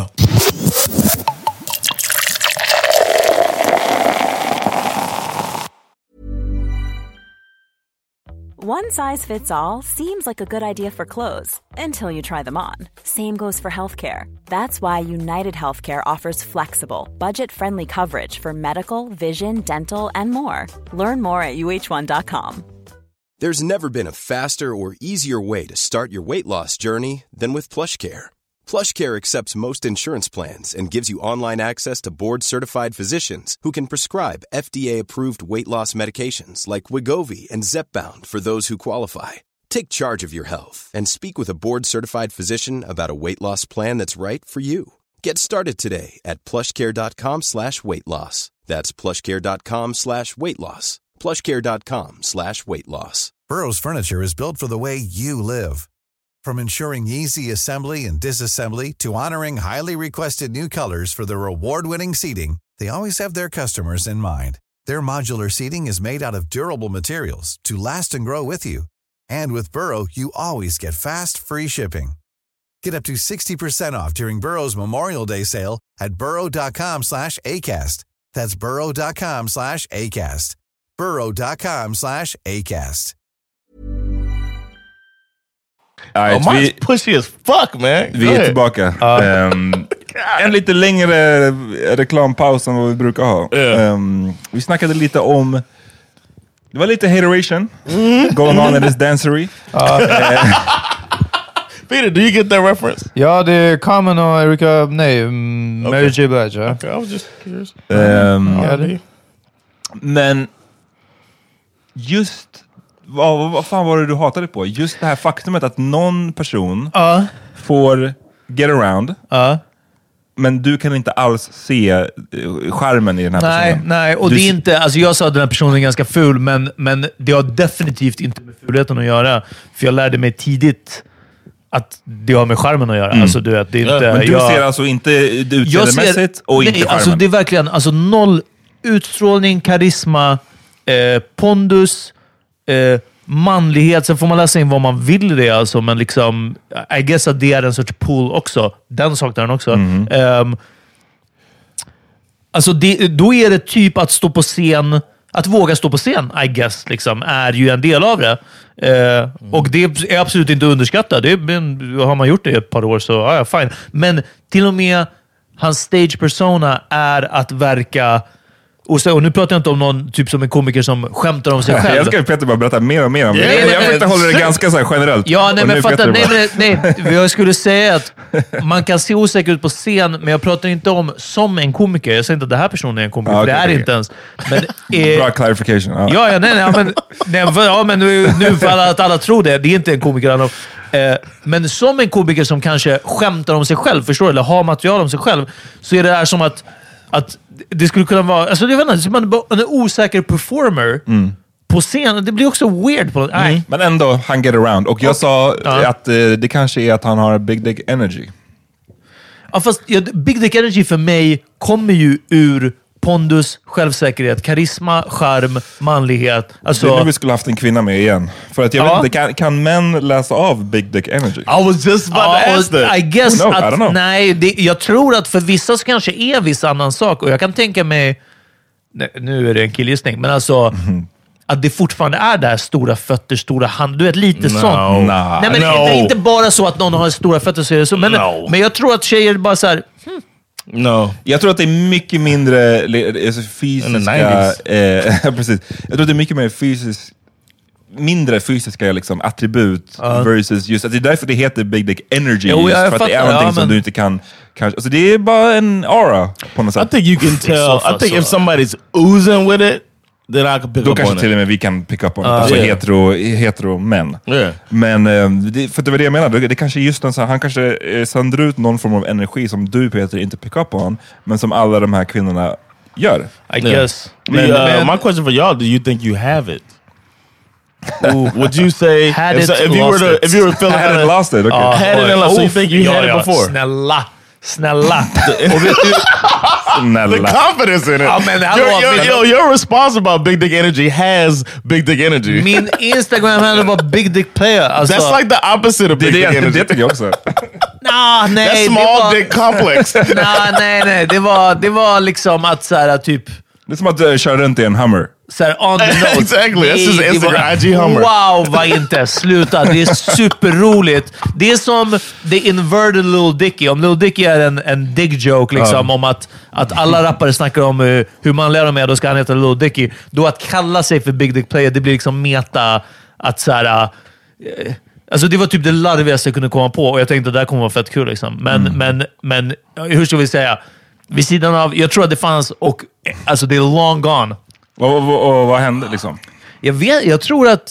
One size fits all seems like a good idea for clothes until you try them on. Same goes for healthcare. That's why United Healthcare offers flexible, budget-friendly coverage for medical, vision, dental, and more. Learn more at uh1.com. There's never been a faster or easier way to start your weight loss journey than with PlushCare. PlushCare accepts most insurance plans and gives you online access to board-certified physicians who can prescribe FDA-approved weight loss medications like Wegovy and Zepbound for those who qualify. Take charge of your health and speak with a board-certified physician about a weight loss plan that's right for you. Get started today at plushcare.com/weightloss. That's plushcare.com/weightloss. plushcare.com/weightloss. Burrow's furniture is built for the way you live. From ensuring easy assembly and disassembly to honoring highly requested new colors for their award-winning seating, they always have their customers in mind. Their modular seating is made out of durable materials to last and grow with you. And with Burrow, you always get fast, free shipping. Get up to 60% off during Burrow's Memorial Day sale at burrow.com/ACAST. That's burrow.com/ACAST. burrow.com/ACAST. Right, mine's pushy as fuck, man. Vi är tillbaka. En lite längre reklampaus än vad vi brukar ha. Vi snackade lite om... Det var lite hateration going on in this dancery. Peter, do you get that reference? Ja, det är Carmen och Erika... Nej, Mary J. Blige. Ja. Okay, I was just curious. Men just... Vad fan var det du hatade på? Just det här faktumet att någon person får get around, men du kan inte alls se charmen i den här personen. Nej, och det är inte... Alltså jag sa att den här personen är ganska ful, men det har definitivt inte med fulheten att göra. För jag lärde mig tidigt att det har med charmen att göra. Alltså, du vet, det är inte, men du ser alltså inte utseendemässigt och inte charmen? Alltså det är verkligen noll utstrålning, karisma, pondus, manlighet. Sen får man läsa in vad man vill i det, alltså, men liksom, I guess att det är en sorts pool också. Den saknar den också. Alltså då är det typ att stå på scen, att våga stå på scen, I guess, liksom, är ju en del av det. Och det är absolut inte underskattat. Har man gjort det i ett par år så ja, fine. Men till och med hans stage persona är att verka... Och nu pratar jag inte om någon typ som en komiker som skämtar om sig själv. Jag ska Peter bara berätta mer och mer om det. Jag försökte hålla det ganska så här generellt. Ja, nej, men fatta, nej. Jag skulle säga att man kan se osäker ut på scen, men jag pratar inte om som en komiker. Jag säger inte att det här personen är en komiker, för det är inte ens. Men, bra clarification. Men nu för att alla tror det. Det är inte en komiker. Men som en komiker som kanske skämtar om sig själv, förstår du? Eller har material om sig själv, så är det där som att det skulle kunna vara... Alltså jag vet inte, man är en osäker performer på scen. Det blir också weird. Men ändå, han get around. Och jag sa att det kanske är att han har big dick energy. Ja, fast big dick energy för mig kommer ju ur pondus, självsäkerhet, karisma, charm, manlighet. Alltså, det är nu vi skulle haft en kvinna med igen. För att jag vet inte, kan män läsa av Big Dick Energy? I was just about to ask that. I guess I don't know. nej, jag tror att för vissa så kanske är viss annan sak. Och jag kan tänka mig, nu är det en killgissning, men alltså att det fortfarande är där stora fötter, stora hand. Du vet, lite sånt. Nej, men inte bara så att någon har stora fötter så är det så. Men jag tror att tjejer bara så här... No. Jag tror att det är mycket mindre fysiska... precis. Jag tror att det är mycket mer mindre fysiska liksom, attribut versus just... Att det är därför det heter Big Dick Energy. Jo, just för att det är någonting som du inte kan... Alltså det är bara en aura på något sätt. I think you can tell. I think if somebody's oozing with it, then I can pick up on it. Då kanske till och med vi kan pick up on it. Alltså hetero män. Yeah. Men för det var det jag menade. Det kanske just en sån, han kanske sänder ut någon form av energi som du, Peter, inte pick up on, men som alla de här kvinnorna gör. I guess. My question for y'all, do you think you have it? Would you say if you were feeling had it, lost it? Okay. Had it and lost, so you think you had it before? Snälla. Och vet du, the confidence in it. Your response about Big Dick Energy has Big Dick Energy. Min Instagram handlar bara Big Dick player. Alltså, that's like the opposite of Big Dick Energy. Det tycker jag också. Nej. That's small dick complex. Nej. Det var liksom att så här typ... Det är som att köra runt i en Hummer. Så här, on the nose. Exactly, that's just Instagram IG Hummer. Wow, vad inte. Sluta, det är superroligt. Det är som the inverted Lil Dicky. Om Lil Dicky är en dick joke liksom, om att alla rappare snackar om hur manliga de är, då ska han heta Lil Dicky. Då att kalla sig för Big Dick Player, det blir liksom meta att så här... Alltså det var typ det larvigaste jag kunde komma på, och jag tänkte att det där kommer vara fett kul liksom. Men hur ska vi säga? Vid sidan av, jag tror att det fanns, och alltså det är long gone. Vad hände liksom? Jag tror att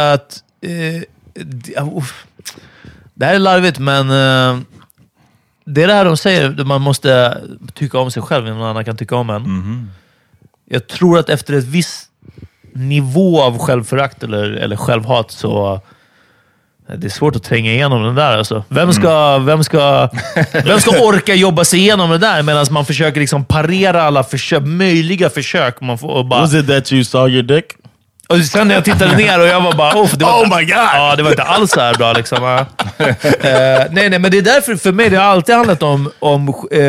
det här är larvigt, men det är det här de säger, man måste tycka om sig själv innan någon annan kan tycka om en. Jag tror att efter ett visst nivå av självförakt eller självhat så det är svårt att tränga igenom den där alltså. Vem ska orka jobba sig igenom det där medan man försöker liksom parera alla möjliga försök man får och bara... Was it that you saw your dick? Och sen när jag tittade ner och jag var bara oh my god! Ja, det var inte alls så här bra liksom. Nej, men det är därför för mig det har alltid handlat om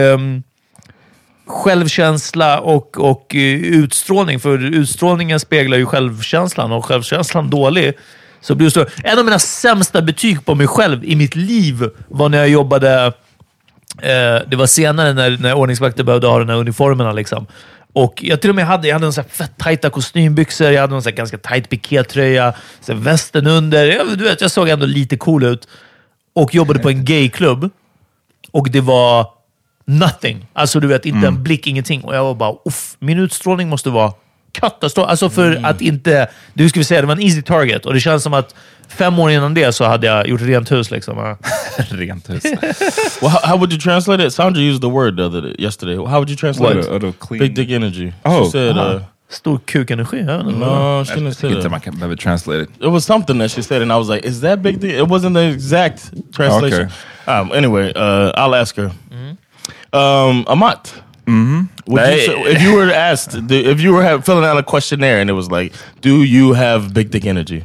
självkänsla och utstrålning. För utstrålningen speglar ju självkänslan, och självkänslan dålig så blir det så. En av mina sämsta betyg på mig själv i mitt liv var när jag jobbade... det var senare när ordningsvakter behövde ha de här uniformerna liksom. Och jag till och med hade en så här fett tajta kostymbyxor, jag hade en så här ganska tajt pikétröja, så här västen under. Du vet, jag såg ändå lite cool ut. Och jobbade på en gayklubb. Och det var nothing. Alltså du vet, inte en blick, ingenting. Och jag var bara, min utstrålning måste vara katastrof. Alltså för att inte... Du ska vi säga, det var en easy target. Och det känns som att 5 år innan det så hade jag gjort rent hus liksom. Rent hus. Well, how would you translate it? Sandra used the word yesterday. How would you translate it? Big Dick Energy. She said... Stor kukenergi. No, she didn't say that. Man can never translate it. It was something that she said, and I was like, is that Big Dick? It wasn't the exact translation. Okay. Anyway, I'll ask her. Amat. If you were asked, if you were filling out a questionnaire and it was like, do you have Big Dick Energy?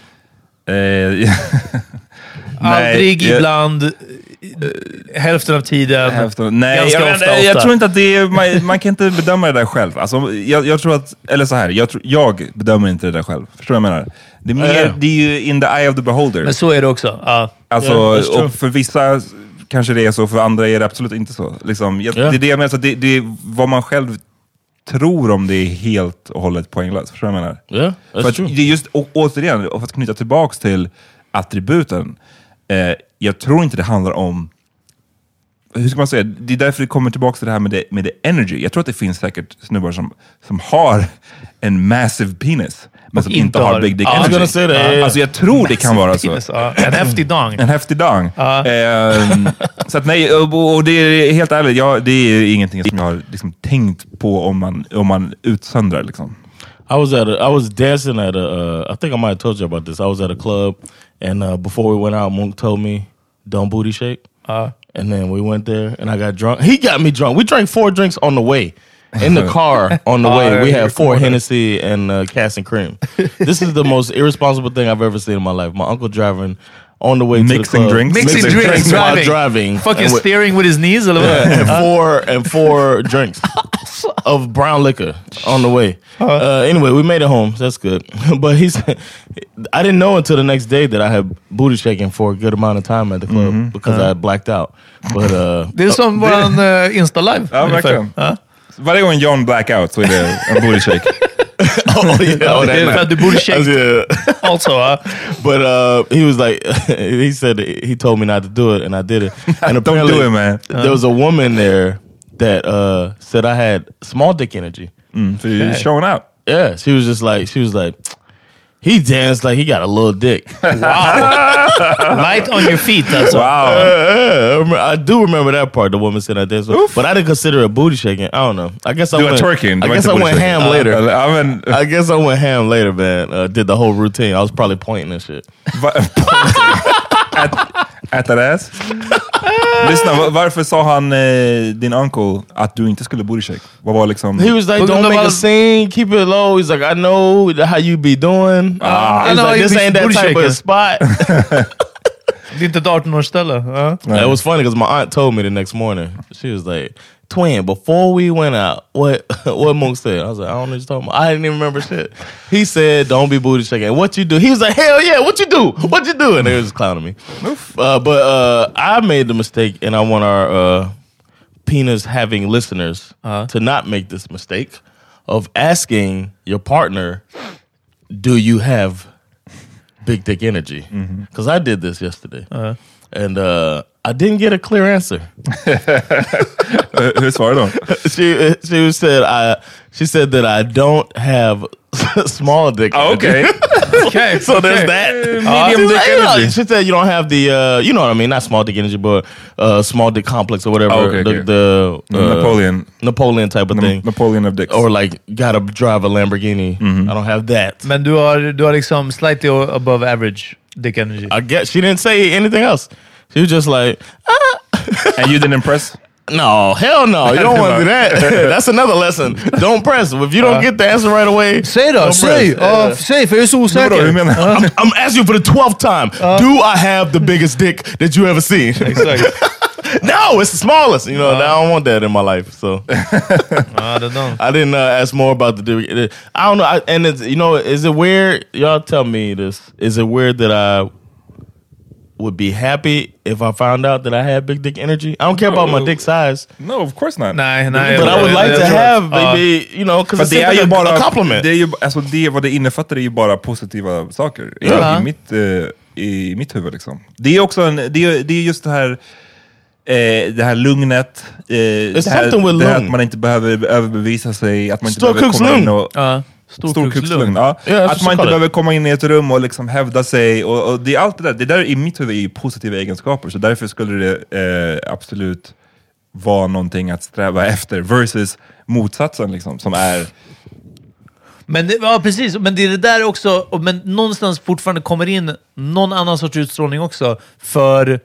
Aldrig, ibland, hälften av tiden. Nej, jag tror inte att det är, man kan inte bedöma det där själv. Alltså, jag tror att, eller så här, jag bedömer inte det där själv. Förstår du vad jag menar? Det är mer, det är ju in the eye of the beholder. Men så är det också. Alltså, och för vissa kanske det är så, för andra är det absolut inte så. Liksom, det är det jag menar, så det är vad man själv tror om det är helt och hållet poänglöst. Förstår du vad jag menar? För att det är just, återigen, och för att knyta tillbaks till attributen, jag tror inte det handlar om, hur ska man säga, det är därför det kommer tillbaka till det här med det energy. Jag tror att det finns säkert snubbar som har en massive penis men som inte har big dick energy. Alltså jag tror det kan vara så. En häftig dong. En häftig dong. Så att nej, och det är helt ärligt, det är ingenting som jag har liksom tänkt på om man utsöndrar liksom. I was dancing at I think I might have told you about this. I was at a club, and before we went out, Monk told me, don't booty shake. And then we went there, and I got drunk. He got me drunk. We drank 4 drinks on the way. In the car on the way, we had 4 Hennessy and Cass and Cream. This is the most irresponsible thing I've ever seen in my life. My uncle driving on the way to the club. Mixing drinks while driving. Fucking steering with his knees. And 4 drinks of brown liquor on the way. Anyway, we made it home. So that's good. But he said, I didn't know until the next day that I had booty shaking for a good amount of time at the club because I had blacked out. But, det är som våran Insta-live. Ja, verkligen. Varje gång John blackout så är det en booty shake. The booty shake also. But he was like, he said he told me not to do it, and I did it. And don't do it, man. There was a woman there that said I had small dick energy. So you're showing out. Yeah, she was like, he danced like he got a little dick. Wow. Light on your feet. That's wow. I do remember that part. The woman said I danced. But I didn't consider it booty shaking. I don't know. I guess I went twerking. I guess I went ham later. I guess I went ham later, man. Did the whole routine. I was probably pointing and shit. At that ass? Lyssna, varför sa han din uncle att du inte skulle booty shake? Vad var liksom... He was like, don't make a scene, keep it low. He's like, I know how you be doing. I know like, this ain't that type shaking. of spot. Det är inte ett 18-årsställe. It was funny because my aunt told me the next morning. She was like, twin, before we went out, what Monk said? I was like, I don't know what you're talking about. I didn't even remember shit. He said, don't be booty shaking. What you do? He was like, hell yeah, what you do? What you do? And they were just clowning me. But I made the mistake, and I want our penis-having listeners to not make this mistake of asking your partner, do you have big dick energy? Because I did this yesterday. And I didn't get a clear answer. Hur svarade hon? She said that I don't have small dick energy. Okay. So there's that. Medium dick energy. She said you don't have the, you know what I mean, not small dick energy, but small dick complex or whatever. Okay. The Napoleon type of thing. Napoleon of dicks. Or like, gotta drive a Lamborghini. I don't have that. Men du har liksom slightly above average dick energy. I guess she didn't say anything else. She was just like, And you didn't impress? No, hell no. You don't want to do that. That's another lesson. Don't press. If you don't get the answer right away, say då, säg. Säg, för jag är så osäker. I'm asking you for the 12th time. Do I have the biggest dick that you ever seen? Exactly. No, it's the smallest. You know, I don't want that in my life. So I don't know. I didn't ask more about the dick. I don't know. And it's, you know, is it weird? Y'all tell me this. Is it weird that I would be happy if I found out that I had big dick energy? I don't care about my dick size. No, of course not. Nej, but I would like to have maybe, you know, because it's like a compliment. Det är ju, alltså vad det innefattar är ju bara positiva saker i mitt huvud liksom. Det är också det är just det här lugnet, det här att man inte behöver överbevisa sig, att man inte behöver komma in och Storkukslugn. Att man inte behöver komma in i ett rum och liksom hävda sig och det är allt det där. Det där i mitt huvud är ju positiva egenskaper, så därför skulle det absolut vara någonting att sträva efter versus motsatsen liksom, som är... Men ja, precis. Men det är det där också, men någonstans fortfarande kommer in någon annan sorts utstrålning också för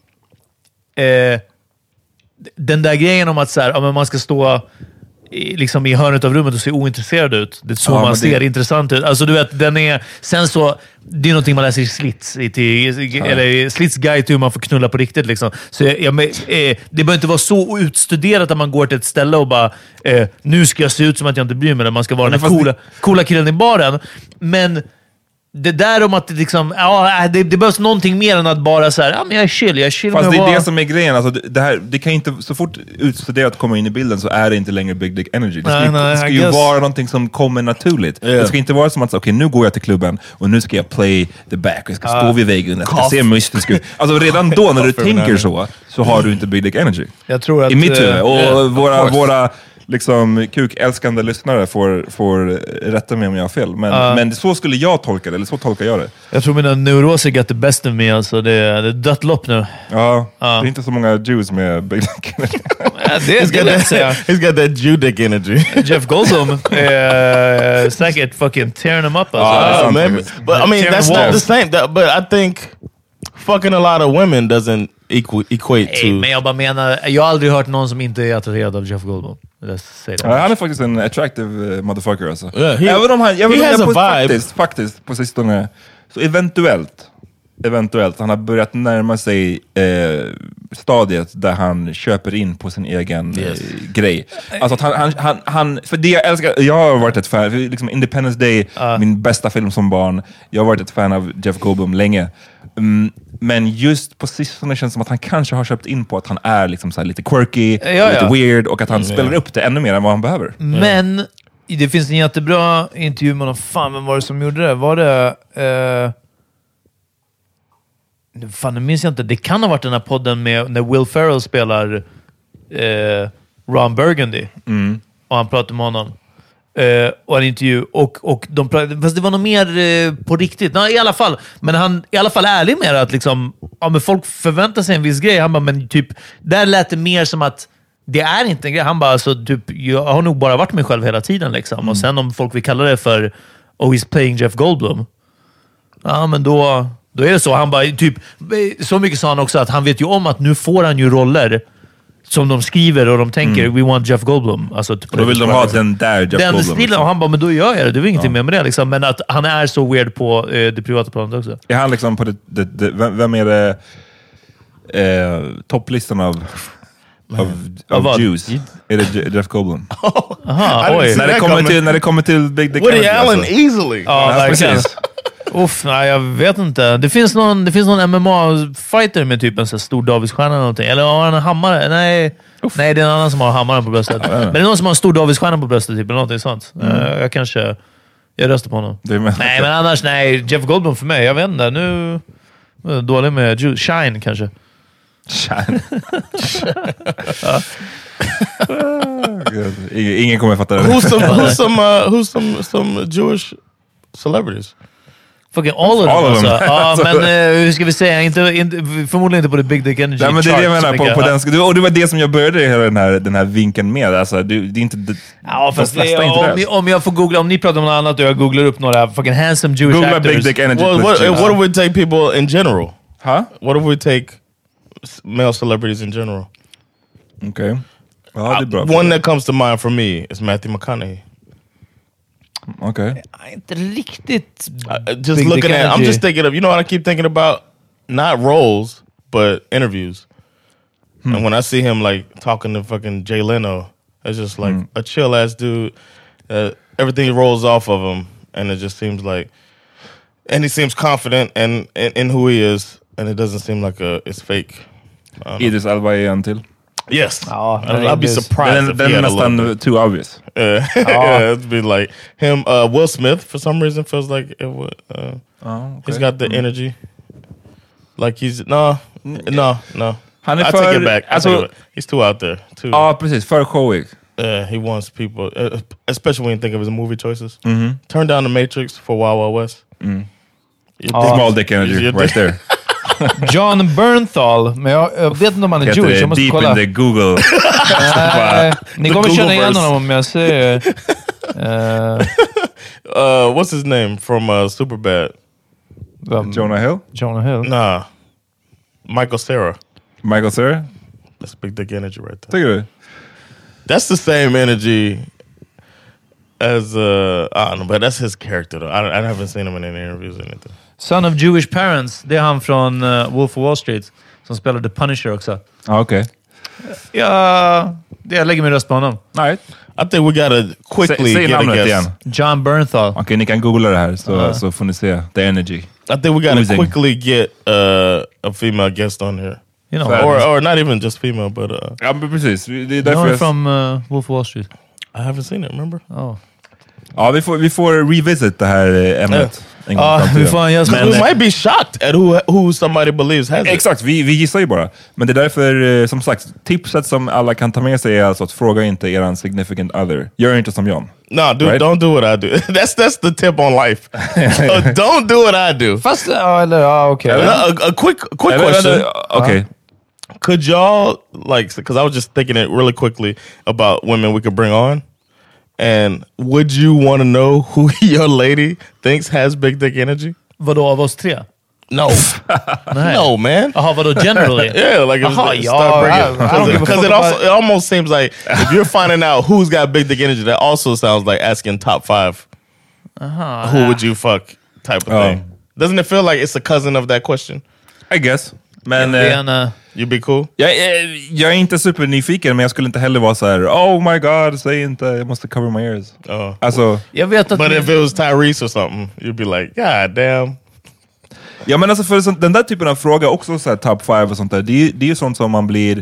den där grejen om att så här, men man ska stå liksom i hörnet av rummet och se ointresserad ut. Det är så man ser intressant ut. Alltså du vet, den är... Sen så, det är någonting man läser i Slits, eller Slits guide till hur man får knulla på riktigt liksom. Så det behöver inte vara så utstuderat att man går till ett ställe och bara nu ska jag se ut som att jag inte bryr mig, när man ska vara den coola killen i baren. Men det där om att liksom, det behövs någonting mer än att bara så här, men jag är chill. Fast det är det som är grejen, alltså det kan inte, så fort utstuderat kommer in i bilden så är det inte längre big dick energy. Det ska ju vara någonting som kommer naturligt. Det ska inte vara som att, okej, nu går jag till klubben och nu ska jag play the back och jag ska stå vid väggen, jag ska se mystisk ut. Alltså redan då när du tänker så har du inte big dick energy. Jag tror att, i mitt huvud. Och våra liksom kukälskande lyssnare får rätta mig om jag har fel. Men så skulle jag tolka det, eller så tolkar jag det. Jag tror mina neuroser got the best of me, alltså. Det är dött lopp nu. Ja, det är inte så många Jews med big dick energy. Det ska jag säga. He's got that Jew dick energy. Jeff Goldblum säkert fucking tearing him up. But I mean, that's not the same. But I think fucking a lot of women doesn't equate to... Men jag bara menar, jag har aldrig hört någon som inte är attraherad av Jeff Goldblum. Han är faktiskt en attractive motherfucker alltså. Yeah, Även om han faktiskt på sistone, så eventuellt han har börjat närma sig stadiet där han köper in på sin egen grej. Alltså att han för det jag älskar, jag har varit ett fan, liksom Independence Day, min bästa film som barn. Jag har varit ett fan av Jeff Goldblum länge. Men just på sistone känns det som att han kanske har köpt in på att han är liksom så här lite quirky, lite weird, och att han spelar upp det ännu mer än vad han behöver. Men det finns en jättebra intervju med någon, fan, vem var det som gjorde det? Var det... Fan, det minns jag inte. Det kan ha varit den här podden med när Will Ferrell spelar Ron Burgundy. Och han pratar med honom. Och en intervju. Och de pratade, fast det var nog mer på riktigt. I alla fall. Men han i alla fall ärlig med att liksom, men folk förväntar sig en viss grej. Han bara, men typ, där lät det mer som att det är inte en grej. Han bara, alltså, typ, jag har nog bara varit mig själv hela tiden. Liksom. Och sen om folk vill kalla det för he's playing Jeff Goldblum. Ja, men då är det så. Han bara, typ, så mycket sa han också att han vet ju om att nu får han ju roller som de skriver och de tänker, we want Jeff Goldblum. Alltså, typ, då vill de ha den där Jeff Goldblum. Stilen, liksom. Och han bara, men då gör jag det. Det är ingenting med det. Liksom. Men att han är så weird på det privata planet också. Är han liksom på vem är det topplistan av Jews? Är det Jeff Goldblum? När det kommer till Big Dick Woody Allen alltså. Easily. Ja, precis. Nej, jag vet inte. Det finns någon MMA-fighter med typ en så stor Davidsstjärna eller någonting. Eller har han en hammare? Nej, det är en annan som har hammaren på bröstet. Men det är någon som har en stor Davidsstjärna på bröstet typ, eller någonting sånt. Jag röstar på honom. Nej, men annars, Jeff Goldblum för mig. Jag vet inte. Nu är dålig med Jews. Shine kanske. Shine. Ingen kommer fatta det. Who's some Jewish celebrities? Fucking all of them. Alltså. Men hur ska vi säga? Förmodligen inte på the Big Dick Energy. Ja, men det är det jag menar på den. Och det var det som jag började hela den här vinkeln med. Alltså, det är inte... fast om jag får googla, om ni pratar om något annat och jag googlar upp några fucking handsome Jewish Googla actors. Big Dick Energy. What if we take people in general? Huh? What if we take male celebrities in general? Okay. Ja, det är bra. One that comes to mind for me is Matthew McConaughey. Okay. Inte riktigt. Just looking at, I'm just thinking of, you know what I keep thinking about? Not roles, but interviews. And when I see him like talking to fucking Jay Leno, it's just like a chill ass dude. Everything rolls off of him, and it just seems like, and he seems confident in who he is, and it doesn't seem like it's fake. Idris Elba är en till. Yes. I'd be surprised if he had a little bit. Too obvious. It'd be like him. Will Smith, for some reason, feels like it would. He's got the energy. Like he's no. Han är I take it back. He's too out there. Ja, precis. För showig. He wants people, especially when you think of his movie choices. Turn down The Matrix for Wild Wild West. Small dick energy right there. John Bernthal, men jag vet inte om han är Jewish. Jag måste deep kolla. In the Google. Ni kommer känna igen honom om jag säger... what's his name from Superbad? Jonah Hill? Jonah Hill? Nah. Michael Cera. Michael Cera? That's big dick energy right there. Tycker du? That's the same energy as I don't know, but that's his character though. I haven't seen him in any interviews or anything. Son of Jewish parents. Det är han från Wolf of Wall Street som spelar The Punisher också. Okej. Ja, jag lägger min röst på honom. Right. I think we gotta quickly Säg get a namnet guess. igen. John Bernthal. Okej, ni kan googla det här så får ni se the energy. I think we gotta quickly get a female guest on here. You know, or not even just female, but ja, men precis. Det är därför jag... from Wolf of Wall Street. I haven't seen it, remember? Oh. Ja, vi får revisit det här ämnet. Vi might be shocked at who somebody believes has it. Exakt, vi gissar ju bara. Men det är därför, som sagt, tipset som alla kan ta med sig är alltså att fråga inte eran significant other. Gör inte som John. No, dude, right? Don't do what I do. That's the tip on life. Don't do what I do. Fast, okay. A quick question. Okay. Could y'all, like, because I was just thinking it really quickly about women we could bring on. And would you want to know who your lady thinks has big dick energy? Vadå, av oss tre? No. No, man. Vadå, generally? Yeah, like because it almost seems like if you're finding out who's got big dick energy, that also sounds like asking top 5. Who would you fuck type of thing. Doesn't it feel like it's a cousin of that question? I guess. Men you'd be cool? Jag är inte supernyfiken, men jag skulle inte heller vara så här: oh my god, säg inte, jag måste cover my ears. Alltså, jag vet att but if it was Tyrese or something, you'd be like, god damn. Ja, men alltså för den där typen av fråga, också så här top 5 och sånt där, det är ju sånt som man blir...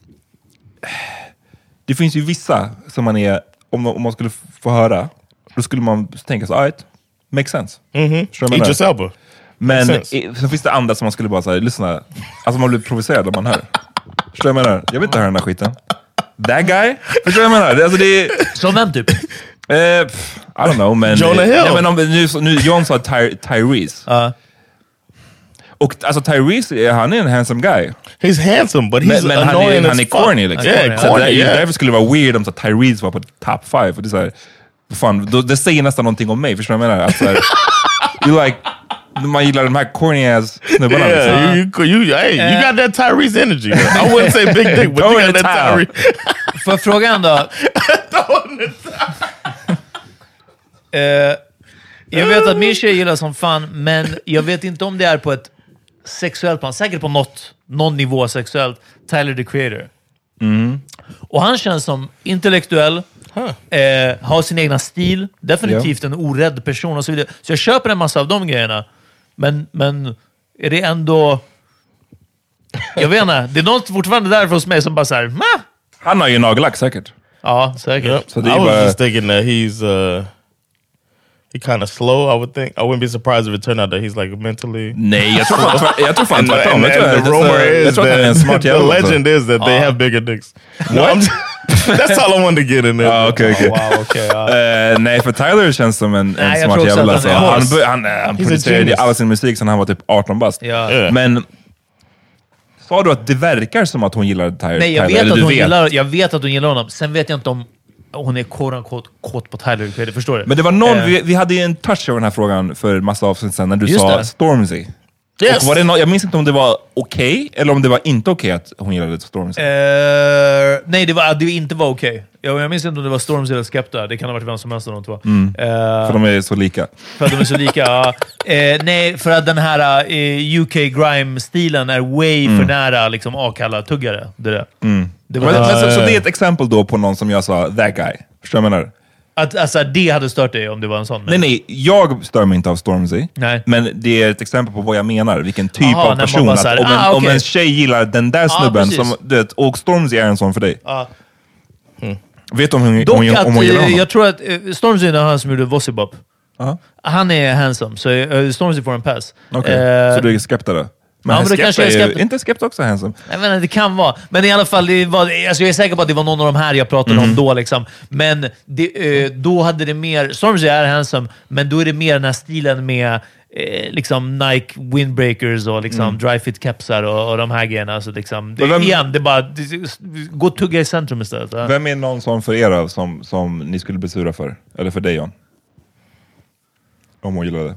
Det finns ju vissa som man är, om man skulle få höra, då skulle man tänka så, right, makes sense. Idris Elba. Men så finns det andra som man skulle bara säga, lyssna, alltså man blir provocerad om man hör. Förstår jag menar? Jag vill inte höra den där skiten. That guy? Förstår jag menar? Alltså det är... Som vem typ? I don't know, men... Jonah Hill. Ja, men nu John sa Tyrese. Och alltså Tyrese, han är en handsome guy. He's handsome, but he's men annoying han är corny liksom. Därför skulle det vara weird om så Tyrese var på top 5. För det är så här, fan, det säger nästan någonting om mig, förstår du vad jag menar? Alltså, you like... Man gillar de här corny ass snubbarna. Yeah, you got that Tyrese energy. I wouldn't say big dick, but you got that Tyrese. För frågan då. Jag vet att min tjej gillar som fan, men jag vet inte om det är på ett sexuellt plan. Säkert på någon nivå sexuellt. Tyler, the Creator. Och han känns som intellektuell, har sin egna stil, definitivt en orädd person och så vidare. Så jag köper en massa av de grejerna. Men är det ändå... Jag vet inte. Det är något fortfarande där hos mig som bara såhär... Han har ju nagellack säkert. Ja, säkert. Yep. So I was just thinking that he's... He kind of slow, I would think. I wouldn't be surprised if it turned out that he's like mentally... Nej, jag tror fan tvärtom. The rumor is that the legend is that they have bigger dicks. What? That's all I wanted to get in there. Okay. Nej, för Tyler känns som en smart jävla. Alltså. Han producerade all sin musik sedan han var typ 18 bast. Men sa du att det verkar som att hon gillar Tyler? Nej, jag vet att hon gillar honom. Sen vet jag inte om hon är kåt på Tyler, förstår du? Men det var någon, vi hade ju en touch av den här frågan för massa avsnitt sen när du sa Stormzy. Yes. Och var det jag minns inte om det var okej eller om det var inte okej att hon gillade Stormzy. Nej, det inte var okej. Jag minns inte om det var Stormzy eller Skepta. Det kan ha varit vem som helst av de två. För de är så lika. Nej, för att den här UK grime-stilen är way för nära liksom A-kalla-tuggare. Så det är ett exempel då på någon som jag sa, that guy. Förstår jag menar? Alltså det hade stört dig om det var en sån. Nej, jag stör mig inte av Stormzy. Nej. Men det är ett exempel på vad jag menar. Vilken typ av person. Om en tjej gillar den där snubben som, och Stormzy är en sån för dig. Vet du om hon gillar honom? Jag tror att Stormzy är han som gjorde Vossibop. Han är handsome, så Stormzy får en pass. Okej, så du är Skepta då? Men Skepta är ju inte Skepta också handsome. Jag vet inte, det kan vara. Men i alla fall, alltså jag är säker på att det var någon av de här jag pratade om då. Liksom. Men då hade det mer... Stormzy är handsome, men då är det mer den här stilen med liksom Nike windbreakers och liksom dry fit capsar och de här grejerna. Så liksom, det är bara... Gå och tugga i centrum istället. Vem är någon sån för er som ni skulle besura för? Eller för dig, John? Om hon gillar det.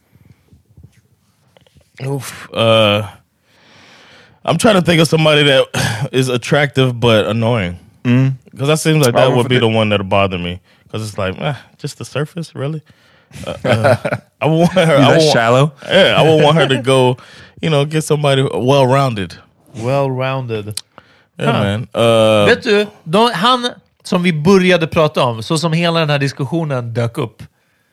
I'm trying to think of somebody that is attractive but annoying. Because that seems like that would be the one that'll bother me. Because it's like, just the surface, really? I want her. Shallow? Yeah, I would want her to go, get somebody well-rounded. Well-rounded. Yeah, man. Vet du, han som vi började prata om, så som hela den här diskussionen dök upp.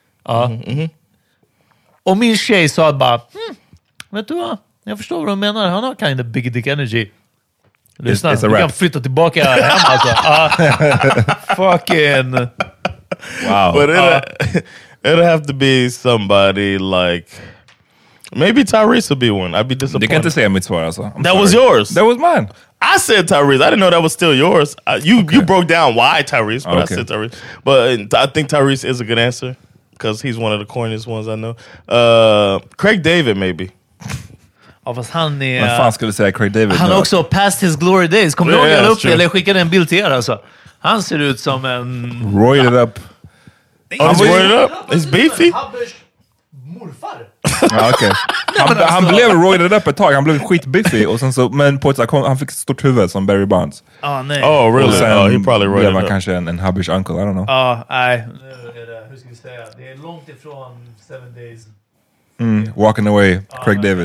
Och min tjej sa bara, vet du vad? Jag förstår vad du menar. Han har kind of big dick energy. Lyssna, du kan flytta tillbaka hem alltså. Fucking... Wow. But it'd have to be somebody like... Maybe Tyrese would be one. I'd be disappointed. Du kan inte säga mitt svar alltså. That was yours. That was mine. I said Tyrese. I didn't know that was still yours. You broke down why Tyrese, but I said Tyrese. But I think Tyrese is a good answer. Because he's one of the corniest ones I know. Craig David, maybe. Ja, fast han är... Vad fan skulle säga Craig David? Han har också past his glory days. Kommer du ihåg jag la upp eller skickade en bild till er alltså? Han ser ut som en... Roided up. Oh, he's roided up? He's beefy? Habbers morfar. Ja, okay. Han blev roided upp ett tag. Han blev skitbiffig och sen så, men på ett, han fick ett stort huvud som Barry Bonds. Nej. Oh really? Sen He probably roided blev up. Kanske en hubbish uncle, I don't know. Nej. Hur ska vi säga? Det är långt ifrån 7 days. Walking away, Craig David.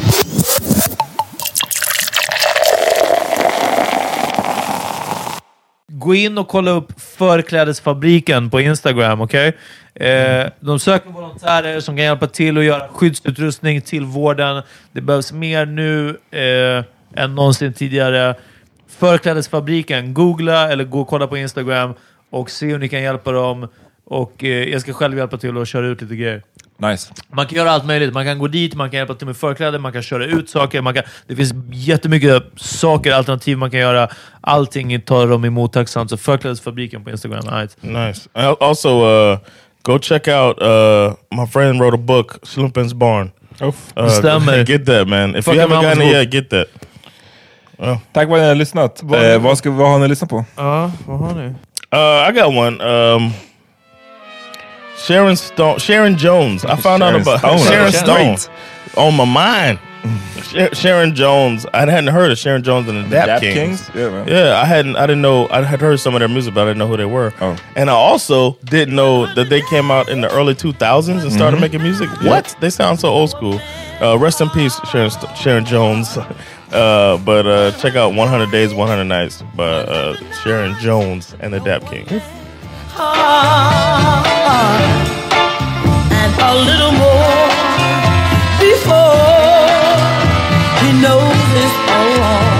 Gå in och kolla upp Förklädesfabriken på Instagram, okej? De söker volontärer som kan hjälpa till att göra skyddsutrustning till vården. Det behövs mer nu än någonsin tidigare. Förklädesfabriken, googla eller gå och kolla på Instagram och se hur ni kan hjälpa dem. Och jag ska själv hjälpa till att köra ut lite grejer. Nice. Man kan göra allt möjligt. Man kan gå dit, man kan hjälpa till med förkläder, man kan köra ut saker. Det finns jättemycket saker, alternativ man kan göra. Allting tar de emot tacksamt. Så Förklädesfabriken på Instagram. Right. Nice. Also, go check out my friend wrote a book, Slumpens Barn. Stämmer. Get that, man. If you haven't gotten it yet, get that. Tack för att ni har lyssnat. Vad har ni lyssnat på? Vad har ni? I got one. Sharon Jones. I found out about Sharon Stone on my mind. Sharon Jones. I hadn't heard of Sharon Jones and the Dap Kings. Yeah, man. Yeah, I didn't know. I had heard some of their music, but I didn't know who they were. Oh. And I also didn't know that they came out in the early 2000s and started making music. What? They sound so old school. Rest in peace, Sharon Jones. But check out 100 Days, 100 Nights by Sharon Jones and the Dap Kings. And a little more before he knows it's all wrong.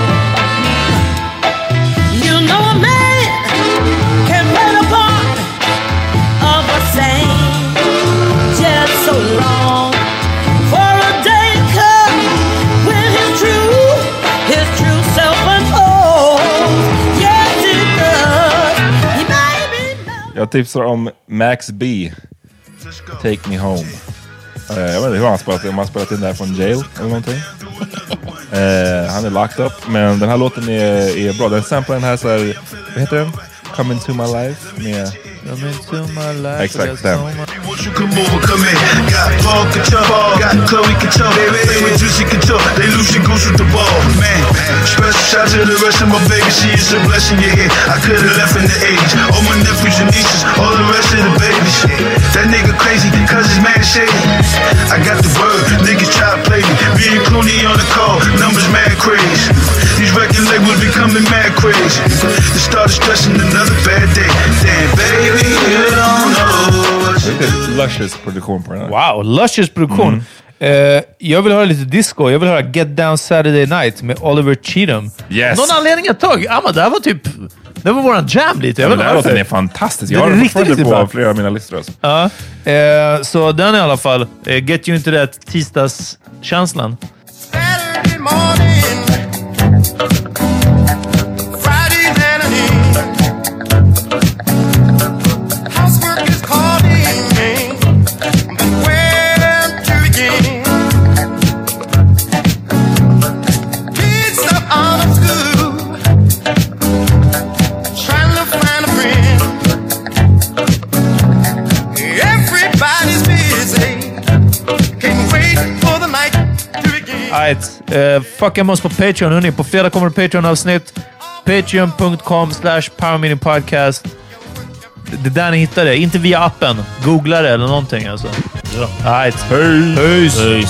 You know a man can play the part of a saint just so long. For a day comes when his true self unfolds. Yes it does. He may be loved. Jag tipsar om Max B. Take Me Home. Jag vet inte hur han spelat. Om han spelat in där från jail eller någonting. Han är locked up. Men den här låten är bra. Den samplar den här så här, vad heter den? Come Into My Life med... Come Into My Life. Exakt, den. You come over, come in. Got Paul Couture, got Chloe Couture. They with Juicy Couture. They Lucy Goose with the ball. Man, special shout to the rest of my baby. She is a blessing, yeah. I could have left in the 80s. All my nephews and nieces, all the rest of the babies. That nigga crazy, cause it's mad shady. I got the word, niggas try to play me. Being Clooney on the call, numbers mad crazy. These record labels becoming mad crazy. They started stressing another bad day. Damn, baby, you don't know. Lite Luscious produktion på den här. Wow, Luscious produktion. Jag vill höra lite disco. Jag vill höra Get Down Saturday Night med Oliver Cheatham. Yes. Någon anledning ett tag. Det här var typ... Det var våran jam lite. Den här låten är fantastisk. Jag har den riktigt på flera av mina listor. Alltså. Så den är i alla fall Get You Into That tisdagskänslan. Saturday morning, Friday afternoon, housework is calling me, but where to begin? Kids are out of school, trying to find a friend. Everybody's busy, can't wait for the night to begin. Fucka med oss på Patreon, hörni. På fredag kommer det Patreon-avsnitt. Patreon.com/PowerMeetingPodcast. Det är där ni hittar det. Inte via appen. Googla det eller någonting alltså. Ja. Peace.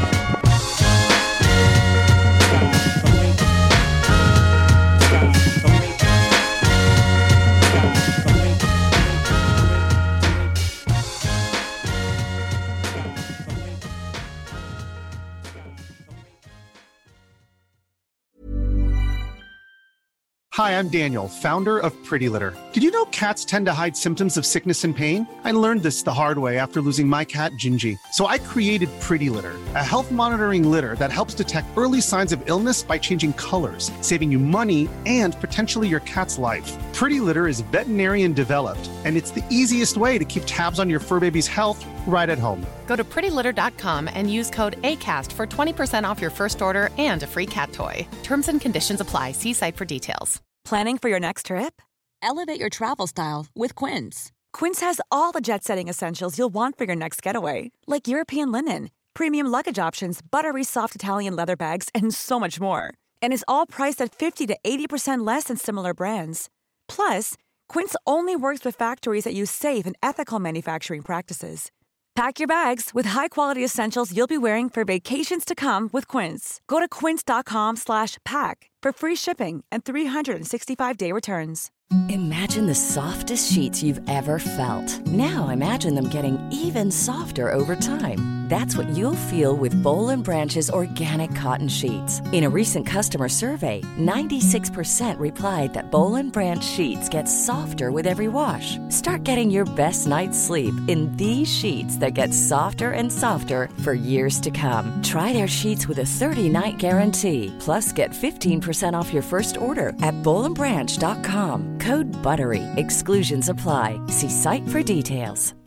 Hi, I'm Daniel, founder of Pretty Litter. Did you know cats tend to hide symptoms of sickness and pain? I learned this the hard way after losing my cat, Gingy. So I created Pretty Litter, a health monitoring litter that helps detect early signs of illness by changing colors, saving you money and potentially your cat's life. Pretty Litter is veterinarian developed, and it's the easiest way to keep tabs on your fur baby's health right at home. Go to prettylitter.com and use code ACAST for 20% off your first order and a free cat toy. Terms and conditions apply. See site for details. Planning for your next trip? Elevate your travel style with Quince. Quince has all the jet-setting essentials you'll want for your next getaway, like European linen, premium luggage options, buttery soft Italian leather bags, and so much more. And is all priced at 50 to 80% less than similar brands. Plus, Quince only works with factories that use safe and ethical manufacturing practices. Pack your bags with high-quality essentials you'll be wearing for vacations to come with Quince. Go to quince.com/pack for free shipping and 365-day returns. Imagine the softest sheets you've ever felt. Now imagine them getting even softer over time. That's what you'll feel with Boll & Branch's organic cotton sheets. In a recent customer survey, 96% replied that Boll & Branch sheets get softer with every wash. Start getting your best night's sleep in these sheets that get softer and softer for years to come. Try their sheets with a 30-night guarantee. Plus, get 15% off your first order at bollandbranch.com. Code BUTTERY. Exclusions apply. See site for details.